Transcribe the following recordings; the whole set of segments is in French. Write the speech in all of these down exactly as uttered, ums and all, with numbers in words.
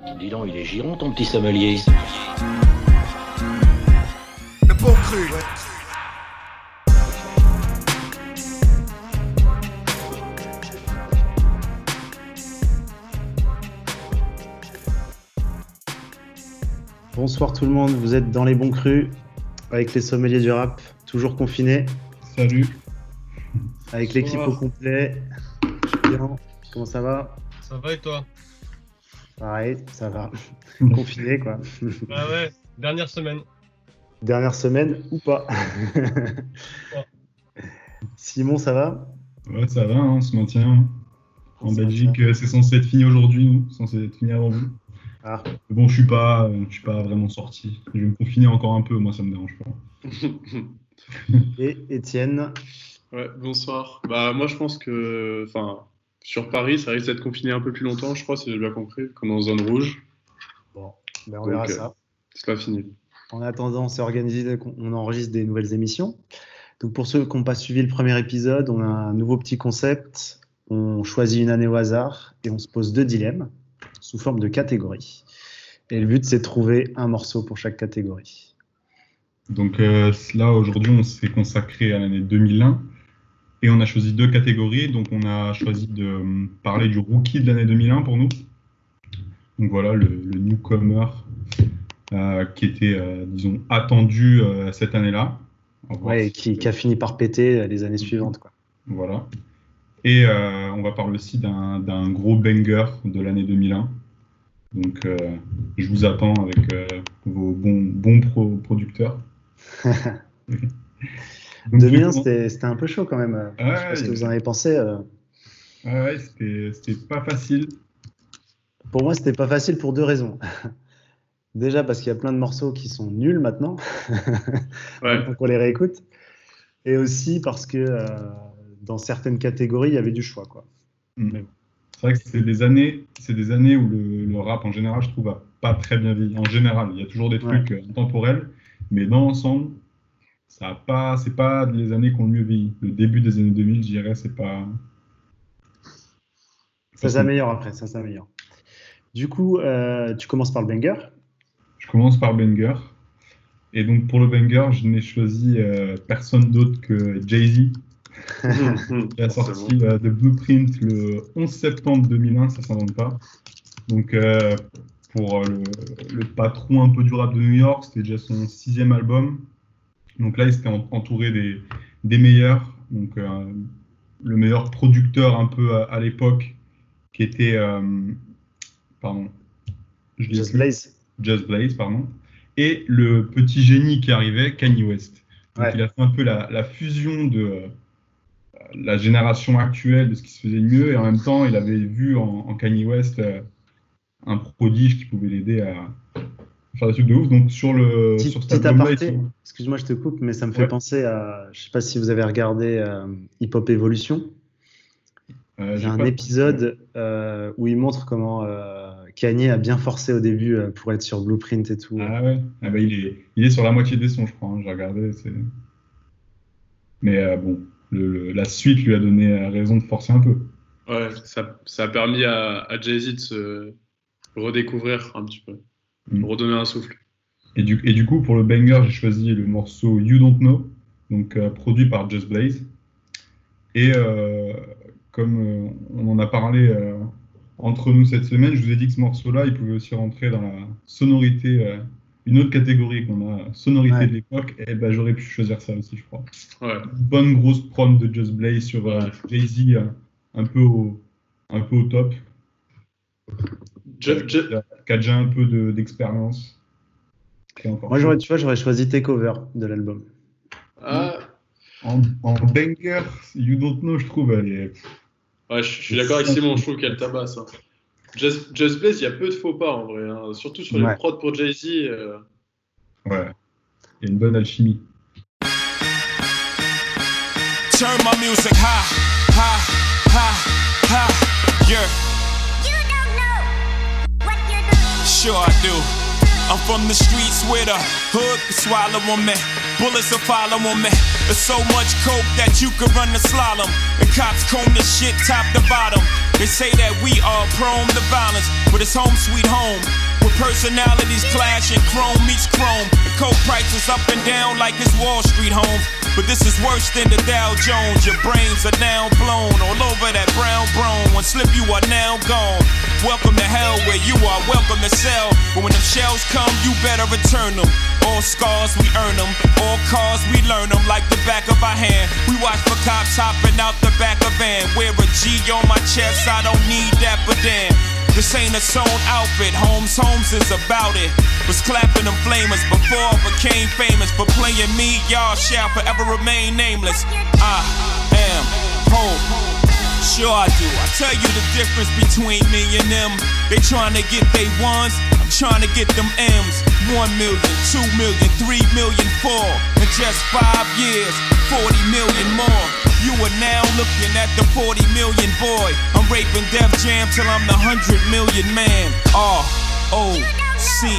Dis donc, il est giron ton petit sommelier. Le bon cru, ouais. Bonsoir tout le monde, vous êtes dans les bons crus avec les sommeliers du rap, toujours confinés. Salut. Avec l'équipe au complet. Bien. Comment ça va? Ça va et toi? Pareil, ça va. Confiné quoi. Ah ouais, dernière semaine. Dernière semaine ou pas. Simon, ça va? Ouais, ça va, hein, on se maintient. En ça Belgique, c'est censé être fini aujourd'hui, nous, censé être fini avant vous. Ah. Bon, je suis pas, je suis pas vraiment sorti. Je vais me confiner encore un peu, moi ça me dérange pas. Et Étienne. Ouais, bonsoir. Bah moi je pense que, enfin, sur Paris, ça risque d'être confiné un peu plus longtemps, je crois, si j'ai bien compris, comme en zone rouge. Bon, ben on Donc, verra euh, ça. C'est pas fini. En attendant, on s'est organisé, on enregistre des nouvelles émissions. Donc pour ceux qui n'ont pas suivi le premier épisode, on a un nouveau petit concept. On choisit une année au hasard et on se pose deux dilemmes sous forme de catégories. Et le but, c'est de trouver un morceau pour chaque catégorie. Donc euh, là, aujourd'hui, on s'est consacré à l'année deux mille un et on a choisi deux catégories. Donc on a choisi de euh, parler du rookie de l'année deux mille un pour nous. Donc voilà, le, le newcomer euh, qui était, euh, disons, attendu euh, cette année-là. Ouais, et qui, qui a fini par péter les années suivantes, quoi. Voilà. Et euh, on va parler aussi d'un, d'un gros banger de l'année deux mille un. Donc, euh, je vous attends avec euh, vos bons, bons pro- producteurs. Donc, deux mille un, coup, c'était, c'était un peu chaud quand même. Ouais, je sais pas ce que vous en avez pensé. Euh... Ouais, c'était, c'était pas facile. Pour moi, c'était pas facile pour deux raisons. Déjà parce qu'il y a plein de morceaux qui sont nuls maintenant, Ouais. maintenant qu'on les réécoute. Et aussi parce que euh, dans certaines catégories, il y avait du choix, quoi. Mm. Mais bon. C'est vrai que c'est des années, c'est des années où le, le rap en général, je trouve, a pas très bien vieilli. En général, il y a toujours des trucs Ouais. euh, intemporels, mais dans l'ensemble, ça a pas, c'est pas les années qui ont le mieux vieilli. Le début des années deux mille, je dirais, c'est pas. Ça s'améliore après, ça s'améliore. Du coup, euh, tu commences par le banger. Je commence par banger. Et donc pour le banger, je n'ai choisi euh, personne d'autre que Jay-Z, qui a sorti euh, The Blueprint le onze septembre deux mille un, ça s'invente pas. Donc euh, pour euh, le, le patron un peu du rap de New York, c'était déjà son sixième album. Donc là, il s'était en- entouré des, des meilleurs. Donc euh, le meilleur producteur un peu à, à l'époque, qui était, euh, pardon, je l'ai Just plus. Blaze. Just Blaze, pardon, et le petit génie qui arrivait, Kanye West. Donc Ouais. il a fait un peu la, la fusion de euh, la génération actuelle, de ce qui se faisait de mieux, et en même temps, il avait vu en, en Kanye West euh, un prodige qui pouvait l'aider à faire des trucs de ouf. Donc sur le Petit, sur cet petit album-là, aparté, ils sont- excuse-moi, je te coupe, mais ça me fait Ouais. penser à. Je sais pas si vous avez regardé euh, Hip Hop Evolution. euh, Il y j'ai a un pas- épisode euh, où il montre comment euh, Kanye a bien forcé au début euh, pour être sur Blueprint et tout. Ah ouais, ah bah, il est il est sur la moitié des sons, je crois. Hein, j'ai regardé, c'est. Mais euh, bon, le, le- la suite lui a donné euh, raison de forcer un peu. Ouais, ça, ça a permis à, à Jay-Z de se redécouvrir un petit peu, Mm. de redonner un souffle. Et du, et du coup, pour le banger, j'ai choisi le morceau You Don't Know, donc euh, produit par Just Blaze. Et euh, comme euh, on en a parlé euh, entre nous cette semaine, je vous ai dit que ce morceau-là, il pouvait aussi rentrer dans la sonorité, euh, une autre catégorie qu'on a, sonorité Ouais. de l'époque, et ben j'aurais pu choisir ça aussi, je crois. Ouais. Bonne grosse prod de Just Blaze sur euh, Ouais. Jay-Z, euh, un peu au, un peu au top, Je- je- qui a- qui a déjà un peu de- d'expérience. Et encore Moi, j'aurais, tu vois, j'aurais choisi Takeover de l'album. Ah, En, en banger, You Don't Know, je trouve, elle est. ouais, je je suis d'accord avec Simon, je trouve qu'elle tabasse. Hein. Just, Just Blaze, il y a peu de faux pas en vrai, hein. Surtout sur les Ouais. prods pour Jay-Z. euh, Ouais. Il y a une bonne alchimie. Turn my music high, high, high, high, yeah. You don't know what you're doing. Sure I do. I'm from the streets where the hood can swallow on me. Bullets will follow on me. There's so much coke that you could run the slalom. And cops comb this shit top to bottom. They say that we are prone to violence, but it's home sweet home. Where personalities clash and chrome meets chrome. And coke prices up and down like it's Wall Street homes. But this is worse than the Dow Jones. Your brains are now blown all over that brown brown. One slip, you are now gone. Welcome to hell where you are welcome to sell. But when them shells come, you better return them. All scars, we earn them. All cars, we learn them like the back of our hand. We watch for cops hopping out the back of van. Wear a G on my chest, I don't need that, but damn. This ain't a sewn outfit, Holmes, Holmes is about it. Was clapping them flamers before I became famous. For playing me, y'all shall forever remain nameless. I am home. Sure I do. I tell you the difference between me and them. They trying to get they ones, I'm trying to get them M's. One million, two million, three million, four. In just five years, forty million more. You are now looking at the forty million boy. I'm raping Def Jam till I'm the hundred million man. R O C.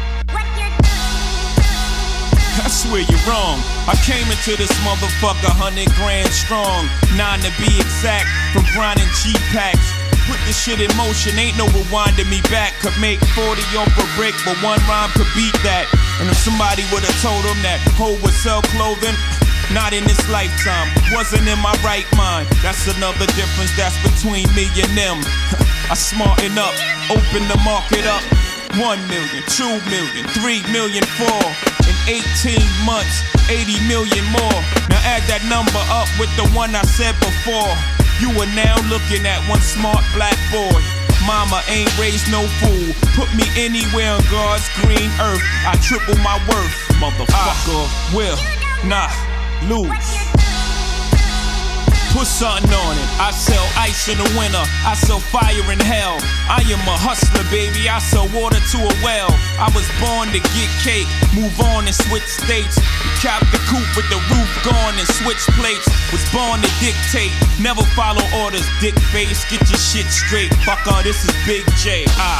I swear you're wrong. I came into this motherfucker hundred grand strong. Nine to be exact, from grinding G-packs. Put this shit in motion, ain't no rewinding me back. Could make forty off a brick, but one rhyme could beat that. And if somebody would've told him that Ho would sell clothing, not in this lifetime, wasn't in my right mind. That's another difference that's between me and them. I smarten up, open the market up. One million, two million, three million, four. In eighteen months, eighty million more. Now add that number up with the one I said before. You are now looking at one smart black boy. Mama ain't raised no fool. Put me anywhere on God's green earth, I triple my worth. Motherfucker, I will not lose. Put something on it. I sell ice in the winter, I sell fire in hell. I am a hustler, baby, I sell water to a well. I was born to get cake, move on and switch states. Cap the coupe with the roof gone and switch plates. Was born to dictate, never follow orders, dick face. Get your shit straight, fucker, this is Big J. Ah.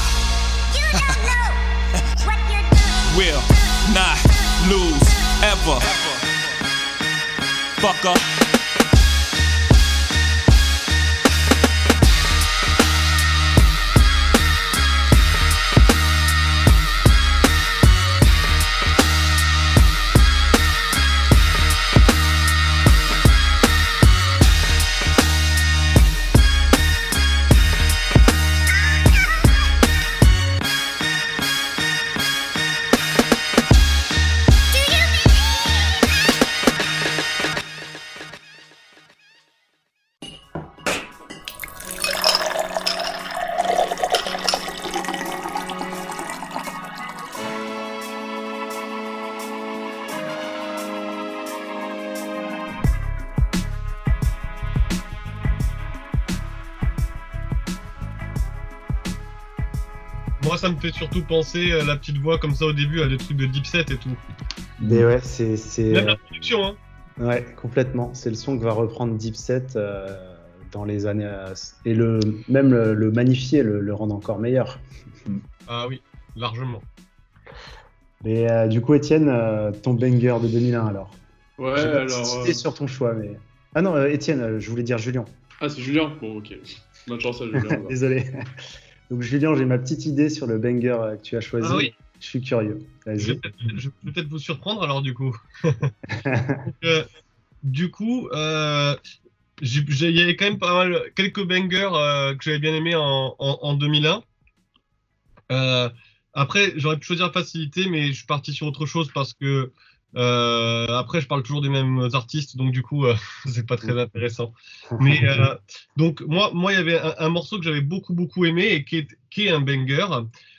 Will not lose ever. Fucker. Moi, ça me fait surtout penser à la petite voix comme ça au début, à des trucs de Dipset et tout. Mais ouais, c'est. c'est Même euh, la production, hein. Ouais, complètement. C'est le son que va reprendre Dipset euh, dans les années. euh, et le, même le, le magnifier, le, le rendre encore meilleur. Ah oui, largement. Mais euh, du coup, Étienne, euh, ton banger de deux mille un alors. Ouais, J'ai pas alors. cité euh, sur ton choix, mais. Ah non, euh, Étienne, euh, je voulais dire Julien. Ah, c'est Julien. Bon, ok. Bonne chance à Julien. alors. Désolé. Donc, Julien, j'ai ma petite idée sur le banger euh, que tu as choisi. Ah oui. Je suis curieux. Je Vas-y. vais peut-être, je vais peut-être vous surprendre alors du coup. Donc, euh, du coup, euh, j'ai- j'ai- il y avait quand même pas mal, quelques bangers euh, que j'avais bien aimé en, en, en deux mille un. Euh, après, j'aurais pu choisir facilité, mais je suis parti sur autre chose parce que euh, après, je parle toujours des mêmes artistes, donc du coup, euh, c'est pas très intéressant. Mais euh, donc moi, moi, il y avait un, un morceau que j'avais beaucoup beaucoup aimé et qui est, qui est un banger.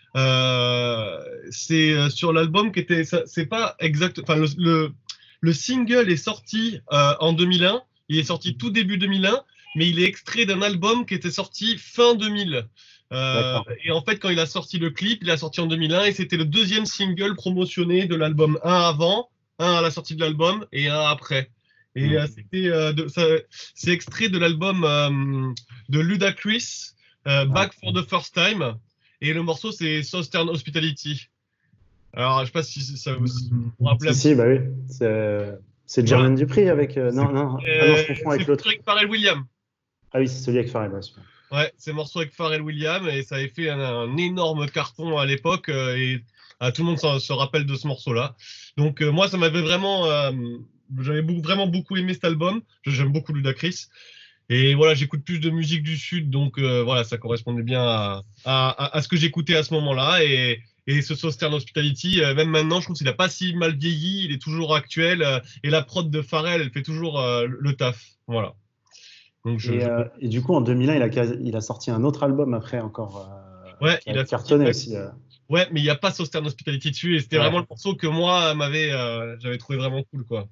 Euh, c'est euh, sur l'album qui était, ça- c'est pas exact. Enfin, le, le le single est sorti euh, en deux mille un. Il est sorti tout début deux mille un, mais il est extrait d'un album qui était sorti fin deux mille. Euh, D'accord. et en fait, quand il a sorti le clip, il a sorti en deux mille un et c'était le deuxième single promotionné de l'album. Un avant, un à la sortie de l'album et un après. Et euh, c'était, euh, de- ça- c'est extrait de l'album euh, de Ludacris, euh, Back for the First Time. Et le morceau, c'est Southern Hospitality. Alors, je sais pas si ça vous si vous vous rappelez. Si, si, bah oui. C'est, c'est Jermaine Dupri avec. euh, non, non. Ah non, je Euh, confonds avec c'est l'autre. avec Pharrell Williams. Ah oui, c'est celui avec Pharrell. Ouais, super. Ouais, c'est morceau avec Pharrell Williams et ça avait fait un, un énorme carton à l'époque euh, et ah, tout le monde se, se rappelle de ce morceau-là. Donc euh, moi, ça m'avait vraiment, euh, j'avais beaucoup, vraiment beaucoup aimé cet album. J'aime beaucoup Ludacris. Et voilà, j'écoute plus de musique du Sud, donc euh, voilà, ça correspondait bien à, à, à ce que j'écoutais à ce moment-là. Et, et ce Southern Hospitality, euh, même maintenant, je trouve qu'il n'a pas si mal vieilli, il est toujours actuel. Euh, et la prod de Pharrell, elle fait toujours euh, le taf. Voilà. Donc, je, Et, je... euh, et du coup, en deux mille un, il a, quasi- il a sorti un autre album après encore. Euh, Ouais, qui a il a cartonné sorti- aussi. euh. Ouais, mais il n'y a pas Southern Hospitality dessus. Et c'était Ouais. vraiment le morceau que moi, m'avait, euh, j'avais trouvé vraiment cool, quoi.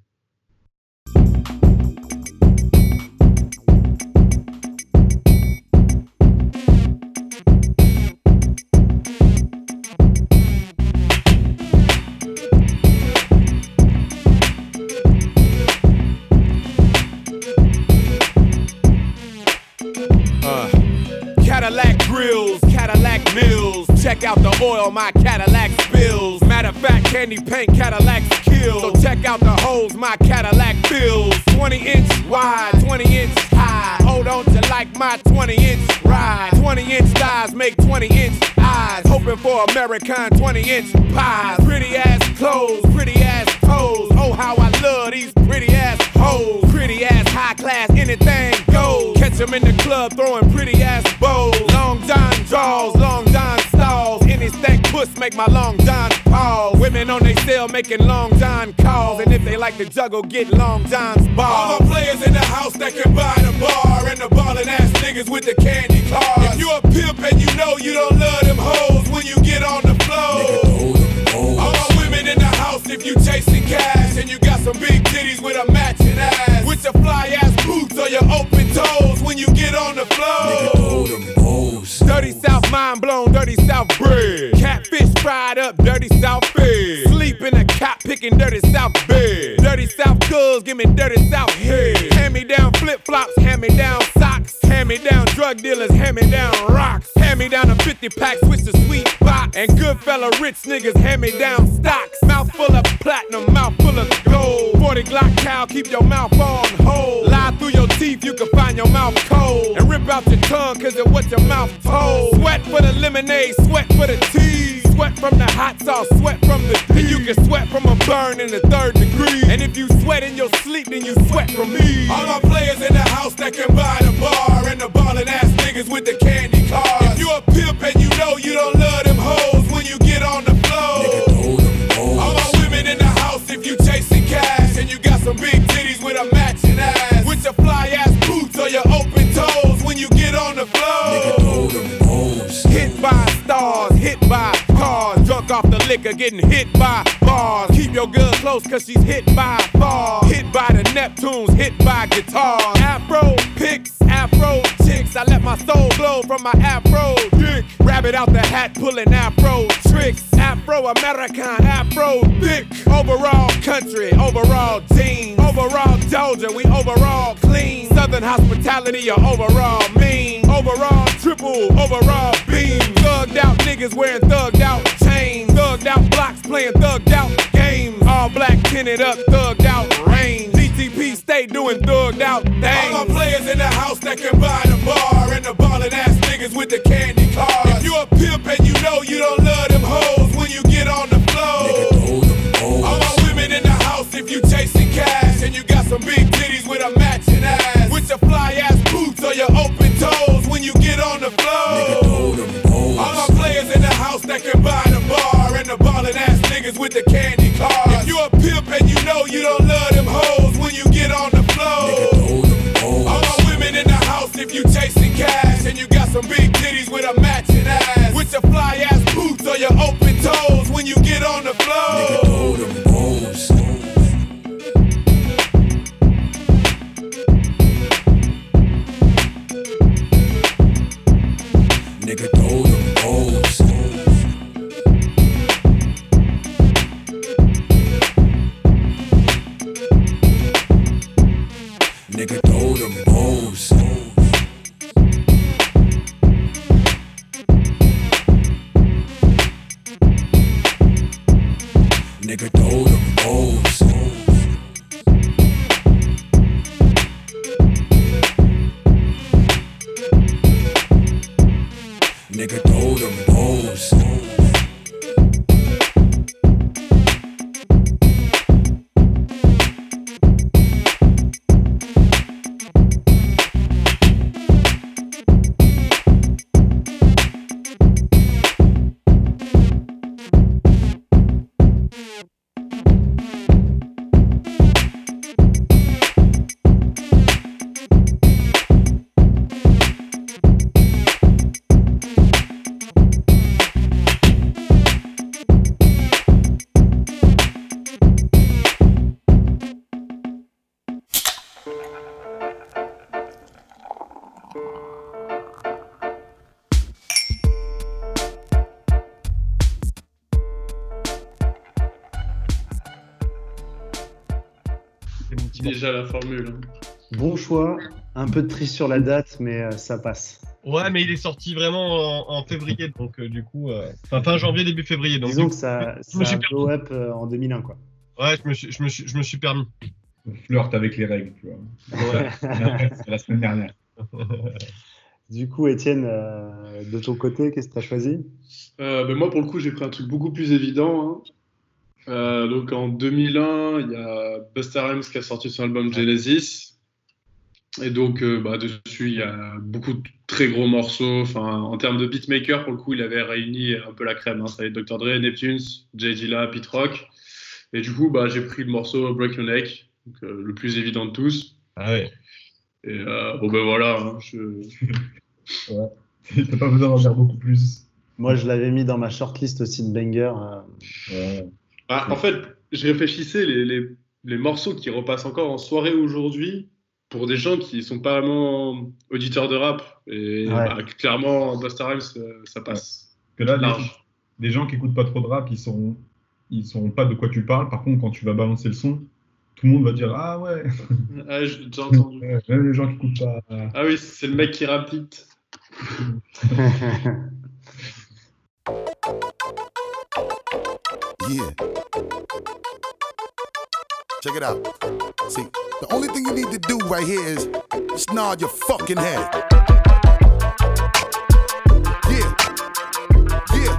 Uh, Cadillac grills, Cadillac mills. Check out the oil my Cadillac spills. Matter of fact, candy paint Cadillacs kill. So check out the holes my Cadillac fills. twenty inch wide, twenty inch high. Hold on to like my twenty inch ride. twenty inch thighs make twenty inch eyes. Hoping for American twenty inch pies. Pretty ass clothes, pretty ass toes. Oh, how I love these pretty ass hoes. Pretty ass high class, anything goes. Catch them in the club throwing pretty ass bows. Long John draws, long John stalls. Any stank puss make my long John pause. Women on they cell making long John calls. And if they like to juggle, get long John's balls. All the players in the house that can buy the bar. And the ballin' ass niggas with the candy cars. If you a pimp and you know you don't love them hoes when you get on the floor. All my women in the house if you chasing cash. And you got some big titties with a matching ass. With your fly ass boots or your open toes when you get on the floor. Dirty South mind blown, dirty South bread. Catfish fried up, dirty South fed. Sleep in a cop picking dirty South bed. Dirty South girls, give me dirty South head. Hand me down flip flops, hand me down socks. Hand me down drug dealers, hand me down rocks. Hand me down a fifty pack, switch the sweet box. And good fella rich niggas, hand me down stocks. Mouth full of platinum, mouth full of gold. forty Glock cow, keep your mouth on hold. Lie through your teeth, you can find your mouth cold. And rip out your tongue, cause of what your mouth told. Sweat for the lemonade, sweat for the tea. Sweat from the hot sauce, sweat from the tea. And you can sweat from a burn in the third degree. And if you sweat in your sleep, then you sweat from me. All my players in the house that can buy the bar. And the ballin' ass niggas with the candy cars. If you a pimp and you know you don't love them hoes when you get on the floor. All my women in the house if you chasing cash. And you got some big titties with a matching ass. With your fly ass boots or your open toes when you get on the floor. Hit by stars, hit by cars. Drunk off the liquor, getting hit by bars. Keep your girl close cause she's hit by bars. Hit by the Neptunes, hit by guitars. Afro picks, afro chicks. I let my soul glow from my afro dick. Rabbit out the hat, pulling afro tricks. Afro-American, afro thick. Overall country, overall jeans. Overall Georgia, we overall clean. Southern hospitality, or overall mean. Overall triple, overall beam. Thugged out niggas wearing thugged out chains. Thugged out blocks playing thugged out games. All black tinted up, thugged out range. D T P stay doing thugged out things. All my players in the house that can buy the bar. And the ballin' ass niggas with the candy cars. If you a pimp and you know you don't love them hoes when you get on the floor. All my women in the house if you chasing cash. And you got some big titties with a matching ass. With your fly ass boots or your open toes when you get on the floor. All my players in the house that can buy the bar. And the ballin' ass niggas with the candy cars. If you a pimp and you know you don't love them hoes when you get on the floor. All my women in the house if you chasing cash. And you got some big titties with a matching ass. With your fly ass boots or your open toes when you get on the floor. Nigga throw them O's. Nigga throw them O's. Nigga throw them O's. Nigga c'est mon petit morceau. Déjà la formule. hein. Bon choix, un peu triste sur la date, mais euh, ça passe. Ouais, mais il est sorti vraiment en, en février, donc euh, du coup, euh, enfin fin janvier, début février. Donc, Disons du que coup, ça, je me ça suis a blow up euh, en deux mille un, quoi. ouais, je me suis, je me suis, je me suis permis. On flirte avec les règles, tu vois. Ouais. C'est la semaine dernière. Du coup, Étienne, euh, de ton côté, qu'est-ce que tu as choisi? Euh, ben moi, pour le coup, j'ai pris un truc beaucoup plus évident. hein. Euh, donc en deux mille un, il y a Busta Rhymes qui a sorti son album Genesis. Et donc euh, bah, dessus, il y a beaucoup de très gros morceaux. Enfin, en termes de beatmaker, pour le coup, il avait réuni un peu la crème. Hein. Ça avait docteur Dre, Neptunes, Jay Dilla, Pete Rock. Et du coup, bah, j'ai pris le morceau Break Your Neck, donc, euh, le plus évident de tous. Ah ouais. Et euh, bon ben voilà, hein, je... T'as pas besoin d'en dire beaucoup plus. Moi, je l'avais mis dans ma shortlist aussi de banger. euh, Ouais. Ah, en fait, je réfléchissais les, les, les morceaux qui repassent encore en soirée aujourd'hui pour des gens qui sont pas vraiment auditeurs de rap. Et Ouais. bah, clairement, Busta Rhymes, euh, ça passe. Que là, les, Large. les gens qui écoutent pas trop de rap, ils sauront, ils sauront pas de quoi tu parles. Par contre, quand tu vas balancer le son, tout le monde va dire ah ouais. Ah, j'ai déjà entendu. Ouais, même les gens qui écoutent pas. Ah oui, c'est le mec qui rappe vite. Yeah. Check it out. See, the only thing you need to do right here is just nod your fucking head. Yeah. Yeah.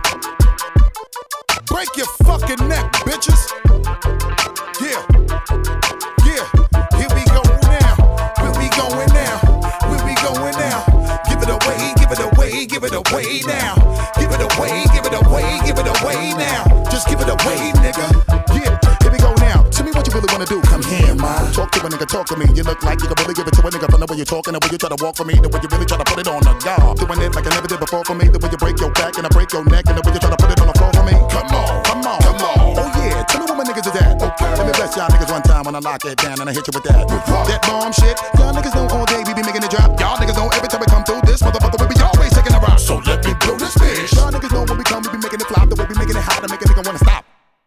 Break your fucking neck, bitches. Yeah. Yeah. Here we go now. Where we going now? Where we going now? Give it away, give it away, give it away now. Give it away, give it away, give it away now. Just give it away, nigga. Yeah, here we go now. Tell me what you really wanna do. Come here, man. Talk to a nigga, talk to me. You look like you can really give it to a nigga from the way you're talking, the way you try to walk for me, the way you really try to put it on the guard. Doing it like I never did before for me, the way you break your back and I break your neck, and the way you try to put it on the floor for me. Come on, come on, come on. Oh yeah, tell me what my niggas is at. Okay. Let me bless y'all niggas one time when I lock it down and I hit you with that. That bomb shit. Y'all niggas know all day we be making it drop. Y'all niggas know every time we come through this motherfucker we be always taking a rock. So let me blow this bitch. Y'all niggas know when we come we be making it flop, the way we making it hot to make a nigga wanna stop.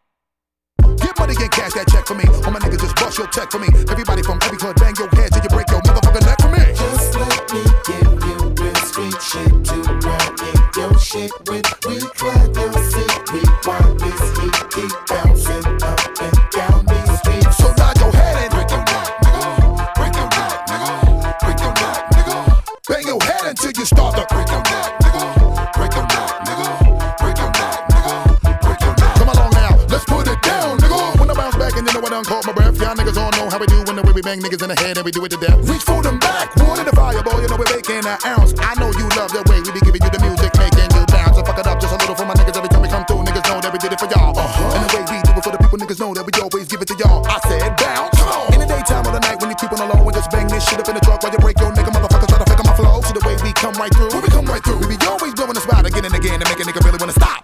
Get money and cash that check for me. All my niggas just bust your check for me. Everybody from every hood bang your head till you break your motherfucking neck for me. Just let me give you real street shit to run in your shit with. We clap your seat, we want this heat keep bouncing up and down these streets. So nod your head and Break your neck, nigga. Break your neck, nigga. Break your neck, nigga. bang your head until you start to Break your neck, nigga. Break your neck, nigga. Break your neck, nigga. Break your neck. come along now. Let's put it down, nigga. When I bounce back and you know I done caught my breath. Y'all niggas all know how we do when the way we bang niggas in the head and we do it to death. Reach for them back, wood in the fire, boy. You know we're making an ounce. I know you love the way we be giving you the music, making you bounce. So fuck it up just a little for my niggas every time we come through. Niggas know that we did it for y'all. Uh-huh. And the way we do it for the people, niggas know that we always give it to y'all. I said bounce. In the daytime or the night when you keep on alone, we just bang this shit up in the truck while you break your nigga motherfuckers try to fake on my flow. See the way we come right through. When we come right through, we be always blowing the spot again and again to make a nigga really wanna stop.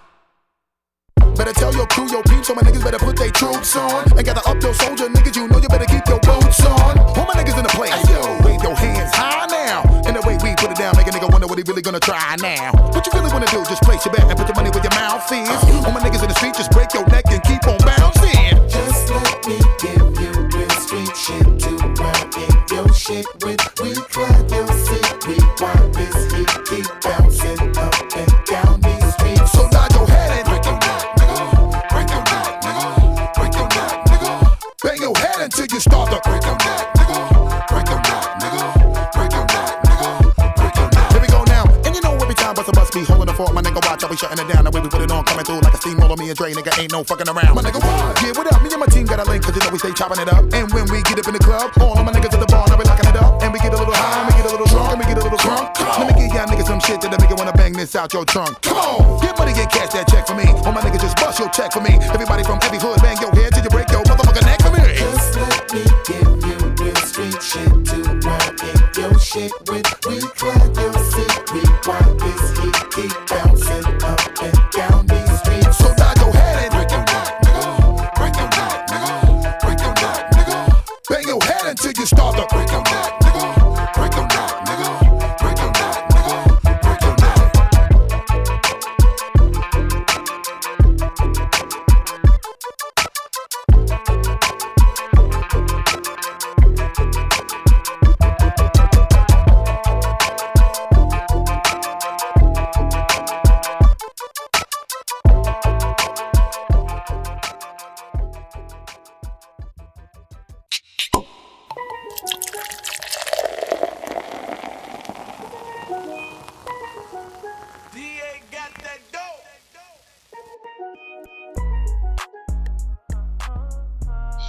Better tell your crew, your peeps, so my niggas better put they troops on. And gather up your soldier niggas, you know you better keep your boots on. All my niggas in the place, yo, wave your hands high now. And the way we put it down, make a nigga wonder what he really gonna try now. What you really wanna do, just place your bet and put your money where your mouth is. All my niggas in the street, just break your neck and keep on bouncing. Just let me give you real street shit to run in your shit with. We clap your seat, we want this heat keep bouncing up and down these streets. So nod your head and Break your neck, nigga. Break your neck, nigga. Break your neck, nigga. bang your head until you start to Break your neck, nigga. Break your neck, nigga. Break your neck, nigga. Break your neck. Here we go now, and you know every time bust a bus be holding the fort, my nigga watch, I be shutting it down. The way we put it on, coming through like a steamroller. Me and Dre, nigga ain't no fucking around. My nigga, what? Yeah, what up? Me and my team got a link, cause you know we stay chopping it up. And when we get up in the club, all of my niggas at the bar, now we locking it up. And we get a little high, and we get a little drunk, and we get a little drunk. Let me give y'all niggas some shit that'll make you wanna bang this out your trunk. Come on, get money and cash that check for me. All my niggas just bust your check for me. Everybody from every hood, bang your head till you break your motherfucking neck for me. Just let me give you real street shit to run in your shit with. We clap your seat, we want this heat keep bouncing up and down these streets. So nod your head and Break your neck, nigga. Break your neck, nigga. Break your neck, nigga. bang your head until you start to Break your neck, nigga. Break your neck, nigga. Break your neck, nigga. Break your neck.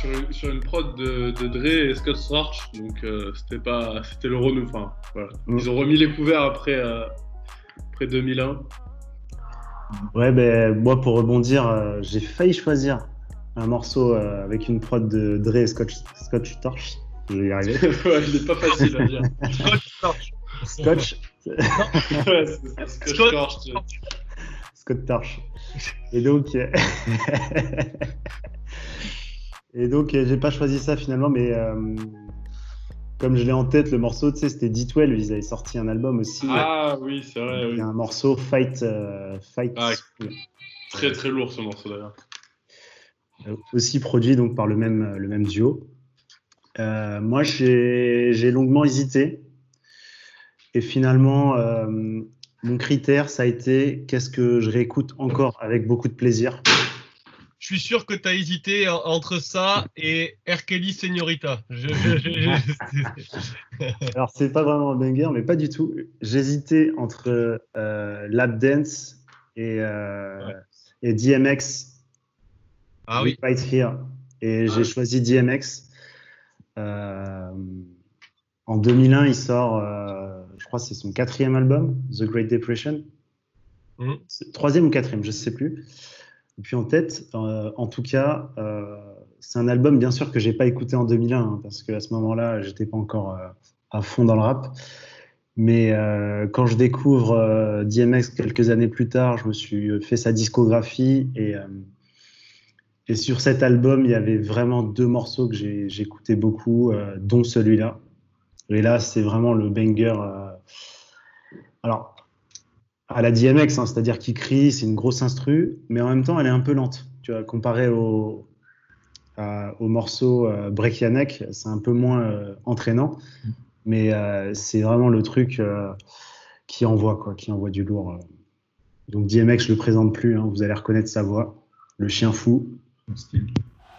sur une, sur une prod de, de Dre et Scott Storch, donc euh, c'était pas, c'était le renou. Enfin, voilà. Mm. Ils ont remis les couverts après, euh, après deux mille un. Ouais, ben moi pour rebondir, euh, j'ai failli choisir un morceau euh, avec une prod de Dre et Scott, Scott Storch. Je vais y arriver. Ouais, il est pas facile à dire. Scotch Torch. Scotch. Ouais, c'est Scott Storch. tu- Scott Torch. Et donc, euh, et donc, euh, j'ai pas choisi ça finalement, mais euh, comme je l'ai en tête, le morceau, tu sais, c'était D douze, ils avaient sorti un album aussi. Ah oui, c'est vrai. Il Oui. y a un morceau Fight, euh, Fight, Ah, Très très lourd ce morceau d'ailleurs. euh, aussi produit donc par le même, le même duo. Euh, moi, j'ai j'ai longuement hésité. Et finalement, euh, mon critère, ça a été qu'est-ce que je réécoute encore avec beaucoup de plaisir. Je suis sûr que tu as hésité en- entre ça et R. Kelly Señorita. Je, je, je, je- Alors, c'est pas vraiment un banger, mais pas du tout. J'hésitais entre euh, Lap Dance et, euh, Ouais. et D M X. Ah oui. Right Here. Et j'ai Ah. choisi D M X. Euh, en deux mille un, il sort, euh, je crois que c'est son quatrième album, The Great Depression. Mhm. C'est- Troisième ou quatrième, je ne sais plus. Et puis en tête, euh, en tout cas, euh, c'est un album bien sûr que j'ai pas écouté en deux mille un, hein, parce qu'à ce moment-là, j'étais pas encore euh, à fond dans le rap. Mais euh, quand je découvre euh, D M X quelques années plus tard, je me suis fait sa discographie et, euh, et sur cet album, il y avait vraiment deux morceaux que j'ai- j'écoutais beaucoup, euh, dont celui-là. Et là, c'est vraiment le banger. euh, Alors, à la D M X, hein, c'est-à-dire qu'il crie, c'est une grosse instru, mais en même temps, elle est un peu lente. Tu vois, comparé au, à- au morceau euh, Break Ya Neck, c'est un peu moins euh, entraînant, mais euh, c'est vraiment le truc euh, qui envoie, quoi, qui envoie du lourd. euh. Donc D M X, je le présente plus, hein, vous allez reconnaître sa voix, le chien fou. Son style.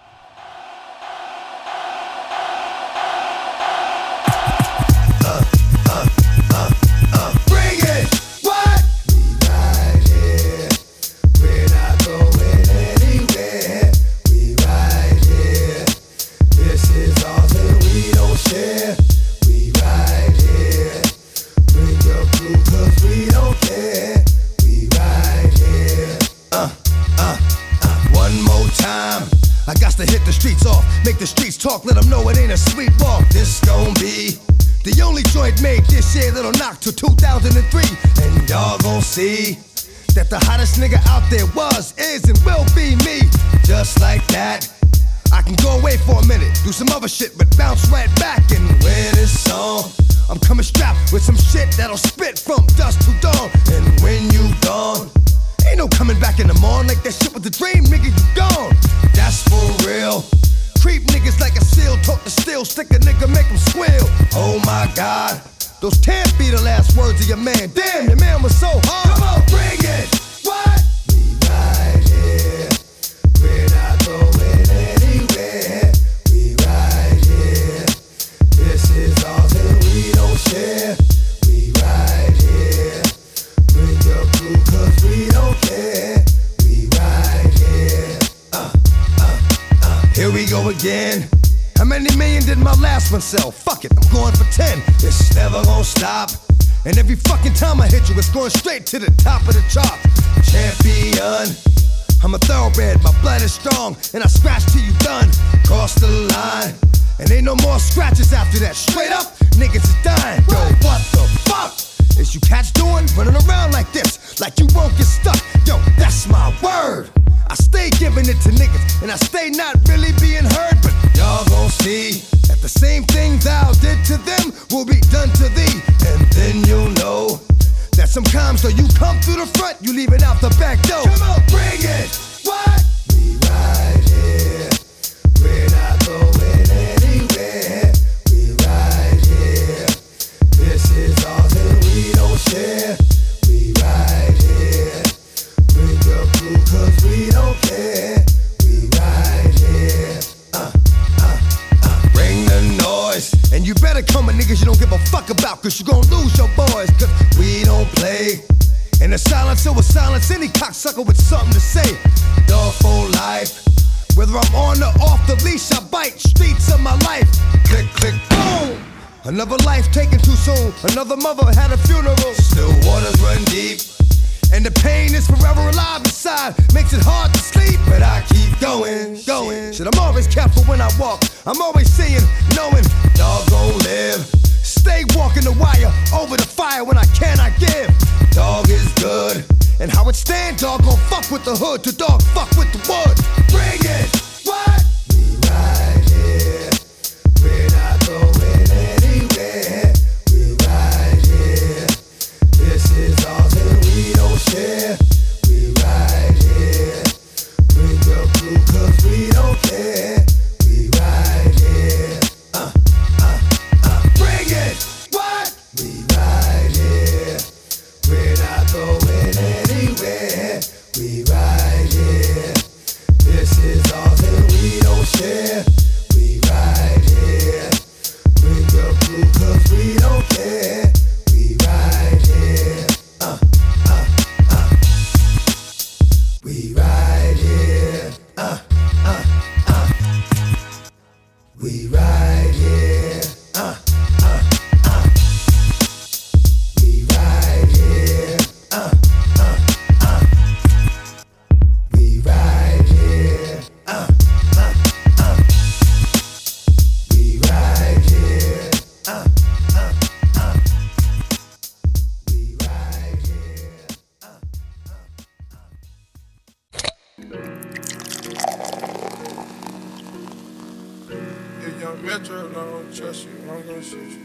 Bring it! What? We right here. We're not going anywhere. We right here. This is ours and we don't share. We right here. Bring your crew cause we don't care. We right here. Uh, uh, uh. One more time. I got to hit the streets off. Make the streets talk. Let them know it ain't a sweet walk. This gon' be the only joint made this year that'll knock till two thousand three. And y'all gon' see that the hottest nigga out there was, is, and will be me. Just like that, I can go away for a minute, do some other shit, but bounce right back and wear this song. I'm coming strapped with some shit that'll spit from dusk to dawn. And when you gone, ain't no coming back in the morning. Like that shit was a dream, nigga, you gone. That's for real. Creep niggas like a seal, talk to steel, stick a nigga, make him squeal. Oh my god, those can't be the last words of your man. Damn, your man was so hard. Come on, bring it. What? We right here. We're not going anywhere. We right here. This is ours and we don't share. We right here. Bring your crew cause we don't care. We right here. Uh, uh, uh. Here we go again. How many million did my last one sell? Fuck it, I'm going for ten. It's never gonna stop. And every fucking time I hit you, it's going straight to the top of the chart. Champion. I'm a thoroughbred, my blood is strong, and I scratch till you done. Cross the line, and ain't no more scratches after that. Straight up, niggas is dying. Yo, what the fuck is you cats doing? Running around like this, like you won't get stuck. Yo, that's my word. I stay giving it to niggas, and I stay not really being heard, but y'all gon' see that the same thing thou did to them will be done to thee, and then you'll know that sometimes though you come through the front, you leave it out the back door. Come on, bring it. What? We right here. We're not going anywhere. We right here. This is ours and we don't share. We right here. Bring your crew cause we don't care. We right here. Uh, uh, uh. Bring the noise. And you better come with niggas you don't give a fuck about, cause you gon' lose your boys, cause we don't play. And the silence will silence any cocksucker with something to say. Dog for life. Whether I'm on or off the leash, I bite. Streets of my life. Click, click, boom. Another life taken too soon. Another mother had a funeral. Still waters run deep. And the pain is forever alive inside. Makes it hard to sleep, but I keep going, going. Shit, I'm always careful when I walk. I'm always seeing, knowing, dog gon' live. Stay walking the wire, over the fire when I cannot give. Dog is good. And how it stand, dog gon' fuck with the hood. To dog fuck with the wood. Bring it, what? We right here. We're not going anywhere. We right here. This is ours and we don't share. We right here. Bring your crew cause we don't care. We right here. Uh, uh, uh. Bring it. What? We right here. We're not going anywhere. We right here. This is ours and we don't share. We right here. Bring your crew cause we don't care. We right here. Uh, uh, uh. We right here. Uh, uh, uh. We right here. Uh, uh, uh. We right here. Uh, uh, uh. We right here. Uh, uh, uh. We right here. Uh, uh, uh. We right here. Uh, If young Metro don't trust you, I'm gonna shoot you.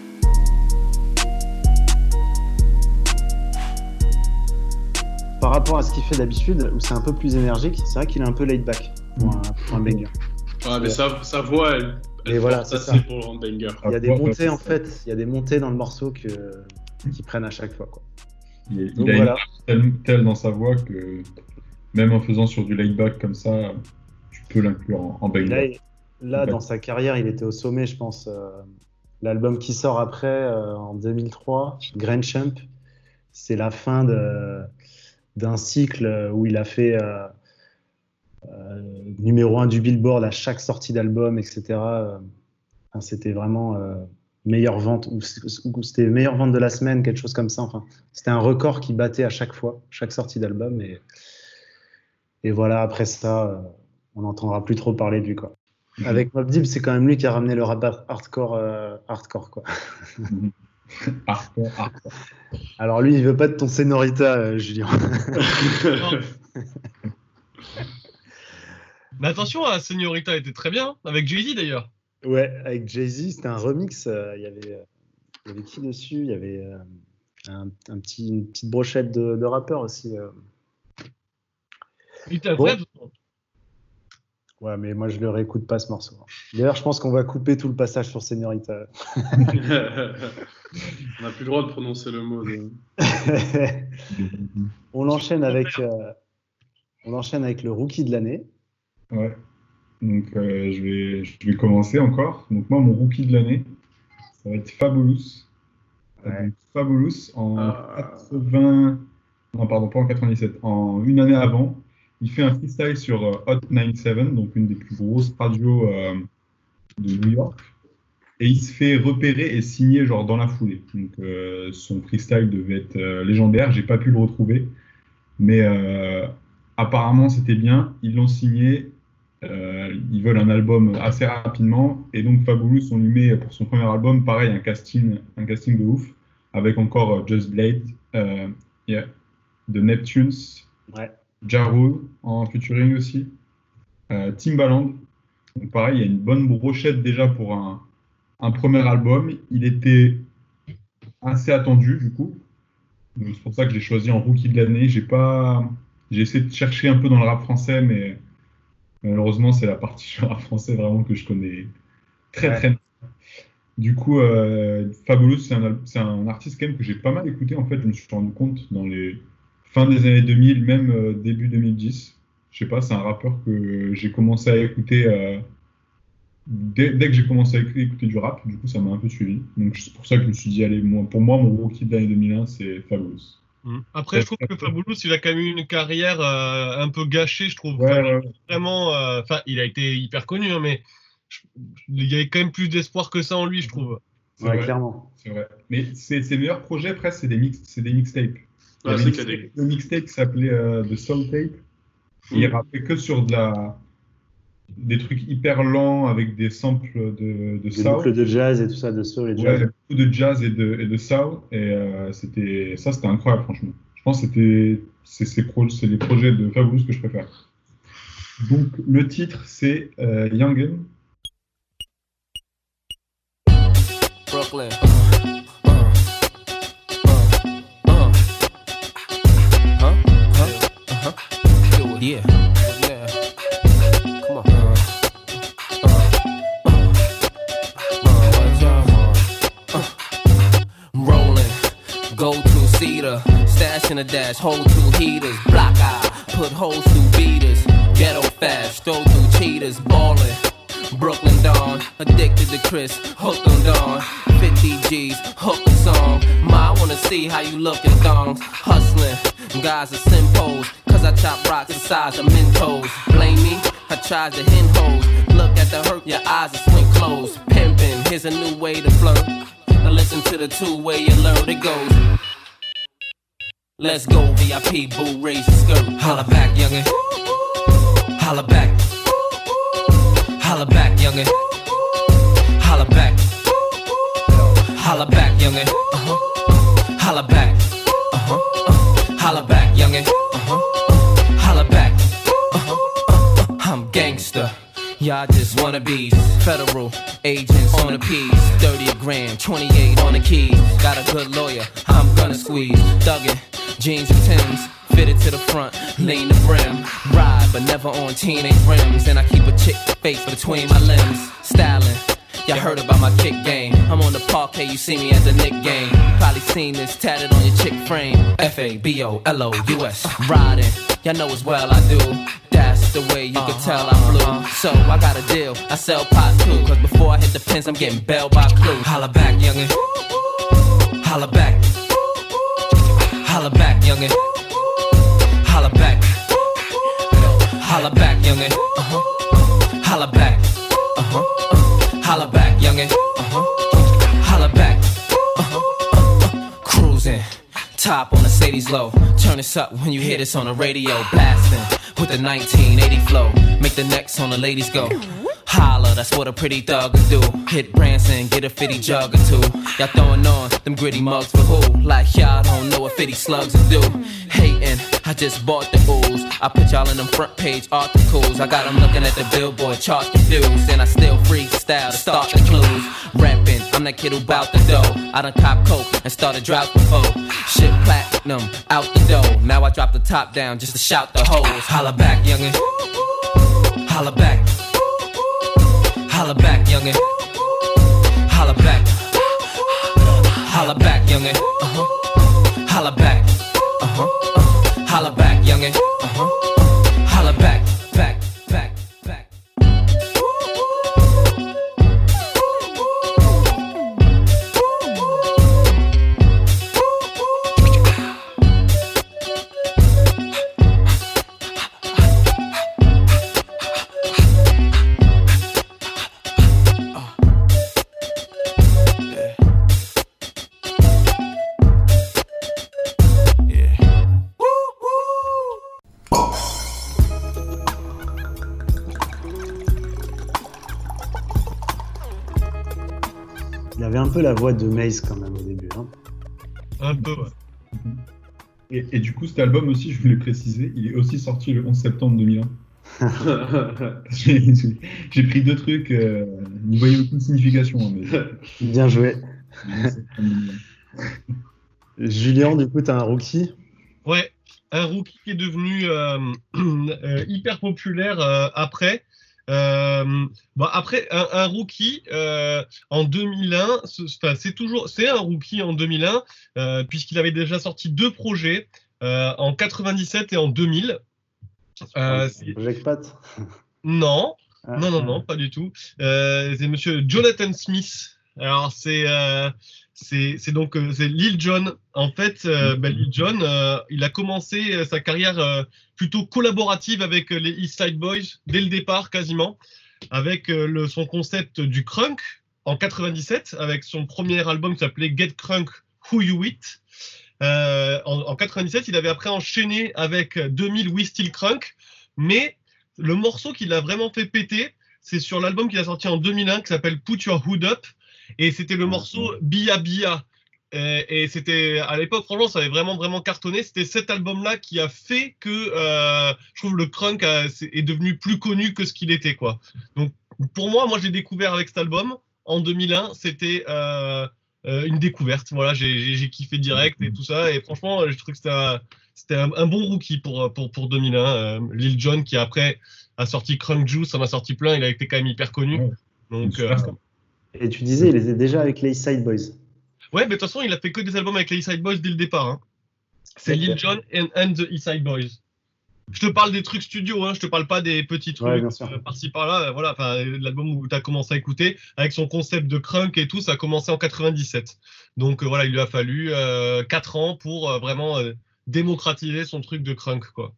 Par rapport à ce qu'il fait d'habitude, où c'est un peu plus énergique, c'est vrai qu'il est un peu laid back pour un, pour un banger. Ouais, mais sa, sa voix, elle, elle Et voilà, porte c'est assez ça. pour un banger. Il y a des Ouais, montées ouais, en c'est fait, il y a des montées dans le morceau que, qui prennent à chaque fois, quoi. Il, il Donc a voilà. une telle, telle dans sa voix que même en faisant sur du laid-back comme ça, tu peux l'inclure en, en banger. Là, il- là, Ouais. dans sa carrière, il était au sommet, je pense. Euh, L'album qui sort après, euh, en deux mille trois, Grand Champ, c'est la fin de, d'un cycle où il a fait euh, euh, numéro un du Billboard à chaque sortie d'album, et cetera. Euh, enfin, c'était vraiment euh, meilleure vente, ou, ou c'était meilleure vente de la semaine, quelque chose comme ça. Enfin, c'était un record qui battait à chaque fois, chaque sortie d'album. Et, et voilà, après ça, euh, on n'entendra plus trop parler de lui, quoi. Avec Mobb Deep, c'est quand même lui qui a ramené le rap hardcore, euh, hardcore, quoi. Hardcore, hardcore. Alors lui, il veut pas de ton Senorita, euh, Julien. Mais attention, la Señorita était très bien, avec Jay-Z d'ailleurs. Ouais, avec Jay-Z, c'était un remix. euh, Il y avait, euh, il y avait qui dessus? Il y avait euh, un, un petit, une petite brochette de, de rappeurs aussi. euh. Il était incroyable. Ouais, mais moi, je le réécoute pas ce morceau. D'ailleurs, je pense qu'on va couper tout le passage sur Senorita. On n'a plus le droit de prononcer le mot. De... On enchaîne avec, euh, on enchaîne avec le rookie de l'année. Ouais. Donc, euh, je, vais, je vais commencer encore. Donc, moi, mon rookie de l'année, ça va être Fabulous. Ouais. Donc, Fabulous, en Ah. quatre-vingts... Non, pardon, pas en quatre-vingt-dix-sept. En une année avant, il fait un freestyle sur euh, Hot quatre-vingt-dix-sept, donc une des plus grosses radios euh, de New York. Et il se fait repérer et signer genre dans la foulée. Donc, euh, son freestyle devait être euh, légendaire. J'ai pas pu le retrouver. Mais euh, apparemment, c'était bien. Ils l'ont signé. Euh, ils veulent un album assez rapidement. Et donc, Fabulous, on lui met pour son premier album, pareil, un casting, un casting de ouf. Avec encore euh, Just Blade, euh, yeah, The Neptunes, Ouais. Ja Rule en featuring aussi, euh, Timbaland. Donc, pareil, il y a une bonne brochette déjà pour un, un premier album. Il était assez attendu, du coup. Donc, c'est pour ça que j'ai choisi en rookie de l'année. J'ai pas... j'ai essayé de chercher un peu dans le rap français, mais malheureusement, c'est la partie sur le rap français vraiment que je connais très Ouais. très bien. Du coup, euh, Fabulous, c'est un, al- c'est un artiste quand même que j'ai pas mal écouté. En fait, je me suis rendu compte dans les fins des années deux mille, même euh, début deux mille dix. Je sais pas, c'est un rappeur que j'ai commencé à écouter euh, dès, dès que j'ai commencé à écouter, écouter du rap. Du coup, ça m'a un peu suivi. Donc, c'est pour ça que je me suis dit, allez, moi, pour moi, mon rookie de l'année deux mille un, c'est Fabulous. Mmh. Après, je trouve que Fabulous, il a quand même eu une carrière euh, un peu gâchée, je trouve. Ouais, Enfin, ouais. Vraiment, enfin, il a été hyper connu, hein, mais je- il y avait quand même plus d'espoir que ça en lui, je trouve. C'est Ouais, vrai, clairement. c'est vrai. Mais ses, ses meilleurs projets, presque, c'est des, mix, c'est des mixtapes. Il y Ah, avait c'est une- cadet. le mixtape qui s'appelait euh, The Soul Tape. Et il Mm. rappait que sur de la, des trucs hyper lents avec des samples de, de Des soul. boucles de jazz et tout ça, de soul et de jazz. Ouais, beaucoup de jazz et de, et de soul. Et euh, c'était, ça, c'était incroyable, franchement. Je pense que c'était, c'est, c'est, pro, c'est les projets de Fabulous que je préfère. Donc, le titre, c'est euh, Youngin. Brooklyn. Uh, uh, uh, huh? Huh? Uh-huh. Do it. Yeah. Yeah. Come on. Uh, uh, uh, uh, what y'all want? Uh, rolling. Go to cedar. Stash in a dash. Hold two heaters. Block eye. Put holes through beaters. Ghetto fast. Throw through cheaters. Ballin'. Brooklyn Dawn, addicted to Chris, hooked on Dawn. fifty G's, hooked on song. Ma, I wanna see how you look in thongs. Hustling, guys are simpos. Cause I chop rocks the size of Mentos. Blame me, I tried to hen hoes. Look at the hurt, your eyes are swing closed. Pimpin', here's a new way to flirt. Now listen to the two-way alert, it goes. Let's go, V I P, boo, raise your skirt. Holla back, youngin'. Holla back. Holla back, youngin'. Holla back. Holla back, youngin'. Uh-huh. Holla back. Uh-huh. Uh-huh. Holla back, youngin'. Uh-huh. Uh-huh. Holla back. Uh-huh. Uh-huh. I'm gangster. Y'all just wannabes. Federal agents on the P's. thirty a grand, twenty-eight on the keys. Got a good lawyer, I'm gonna squeeze. Thuggin', jeans and Timbs. Fitted to the front, lean the brim. Ride, but never on teenage rims. And I keep a chick face between my limbs. Styling, y'all heard about my kick game. I'm on the parquet, you see me at the Nick game. You probably seen this tatted on your chick frame. F A B O L O U S. Riding, y'all know as well I do. That's the way you can tell I'm blue. So I got a deal, I sell pot too. Cause before I hit the pins, I'm getting bailed by Clue. Holla back, youngin'. Holla back. Holla back, youngin'. Holla back. Holla back, youngin'. Uh-huh. Holla back. Uh-huh. Uh-huh. Holla back, youngin'. Uh-huh. Holla back. Uh-huh. Uh-huh. Cruising. Top on the Sadie's low. Turn this up when you hear this on the radio. Blasting with the nineteen eighty flow. Make the necks on the ladies go. Holla, that's what a pretty thug would do. Hit Branson, get a fifty jug or two. Y'all throwing on them gritty mugs for who? Like y'all don't know what fifty slugs will do. Hating, I just bought the ooze. I put y'all in them front page articles. I got them looking at the billboard chart confused. And I still freestyle to start the clues. Rapping, I'm that kid who bout the dough. I done cop coke and started drought before. Shit platinum, out the door. Now I drop the top down just to shout the hoes. Holla back, youngin'. Holla back. Holla back, youngin'. Holla back. Holla back, youngin'. Uh-huh. Holla back. Uh-huh. Uh-huh. Holla back, youngin'. Uh-huh. Uh-huh. Holla back, back, back, back. Il avait un peu la voix de Maze quand même au début. Hein. Un peu, ouais. Et, et du coup, cet album aussi, je voulais préciser, il est aussi sorti le onze septembre deux mille un. j'ai, j'ai- j'ai pris deux trucs, euh, n'y voyez aucune signification. Hein, mais... Bien joué. le onze septembre deux mille un. Julien, du coup, t'as un rookie. Ouais, un rookie qui est devenu euh, euh, hyper populaire euh, après. Euh, bon, après, un, un rookie euh, en deux mille un, c'est, enfin, c'est toujours, c'est un rookie en deux mille un euh, puisqu'il avait déjà sorti deux projets euh, en quatre-vingt-dix-sept et en deux mille. Euh, c'est- Jackpot. non, Ah, non, non, ah. non, pas du tout. Euh, c'est Monsieur Jonathan Smith. Alors c'est euh, c'est c'est donc euh, c'est Lil Jon. En fait, euh, bah, Lil Jon, euh, il a commencé euh, sa carrière euh, plutôt collaborative avec euh, les East Side Boys dès le départ quasiment, avec euh, le, son concept du crunk en quatre-vingt-dix-sept, avec son premier album qui s'appelait Get Crunk Who You With. Euh, en, en quatre-vingt-dix-sept, il avait après enchaîné avec deux mille We Still Crunk, mais le morceau qui l'a vraiment fait péter, c'est sur l'album qu'il a sorti en deux mille un qui s'appelle Put Your Hood Up, et c'était le morceau Bia Bia. Et, et c'était à l'époque, franchement, ça avait vraiment vraiment cartonné. C'était cet album-là qui a fait que euh, je trouve le crunk a, est devenu plus connu que ce qu'il était, quoi. Donc pour moi, moi, je l'ai découvert avec cet album en deux mille un. C'était euh, euh, une découverte. Voilà, j'ai, j'ai, j'ai kiffé direct et tout ça. Et franchement, je trouve que c'était un, c'était un, un bon rookie pour pour pour deux mille un. Euh, Lil Jon qui après a sorti Crunk Juice, en a sorti plein. Il a été quand même hyper connu. Donc euh, et tu disais, il était déjà avec les East Side Boys. Ouais, mais de toute façon, il a fait que des albums avec les East Side Boys dès le départ. Hein. C'est Lil Jon and, and the East Side Boys. Je te parle des trucs studio, hein, je te parle pas des petits trucs ouais, euh, par-ci par-là. Euh, voilà, enfin, l'album où tu as commencé à écouter, avec son concept de crunk et tout, ça a commencé en quatre-vingt-dix-sept. Donc euh, voilà, il lui a fallu euh, quatre ans pour euh, vraiment euh, démocratiser son truc de crunk, quoi.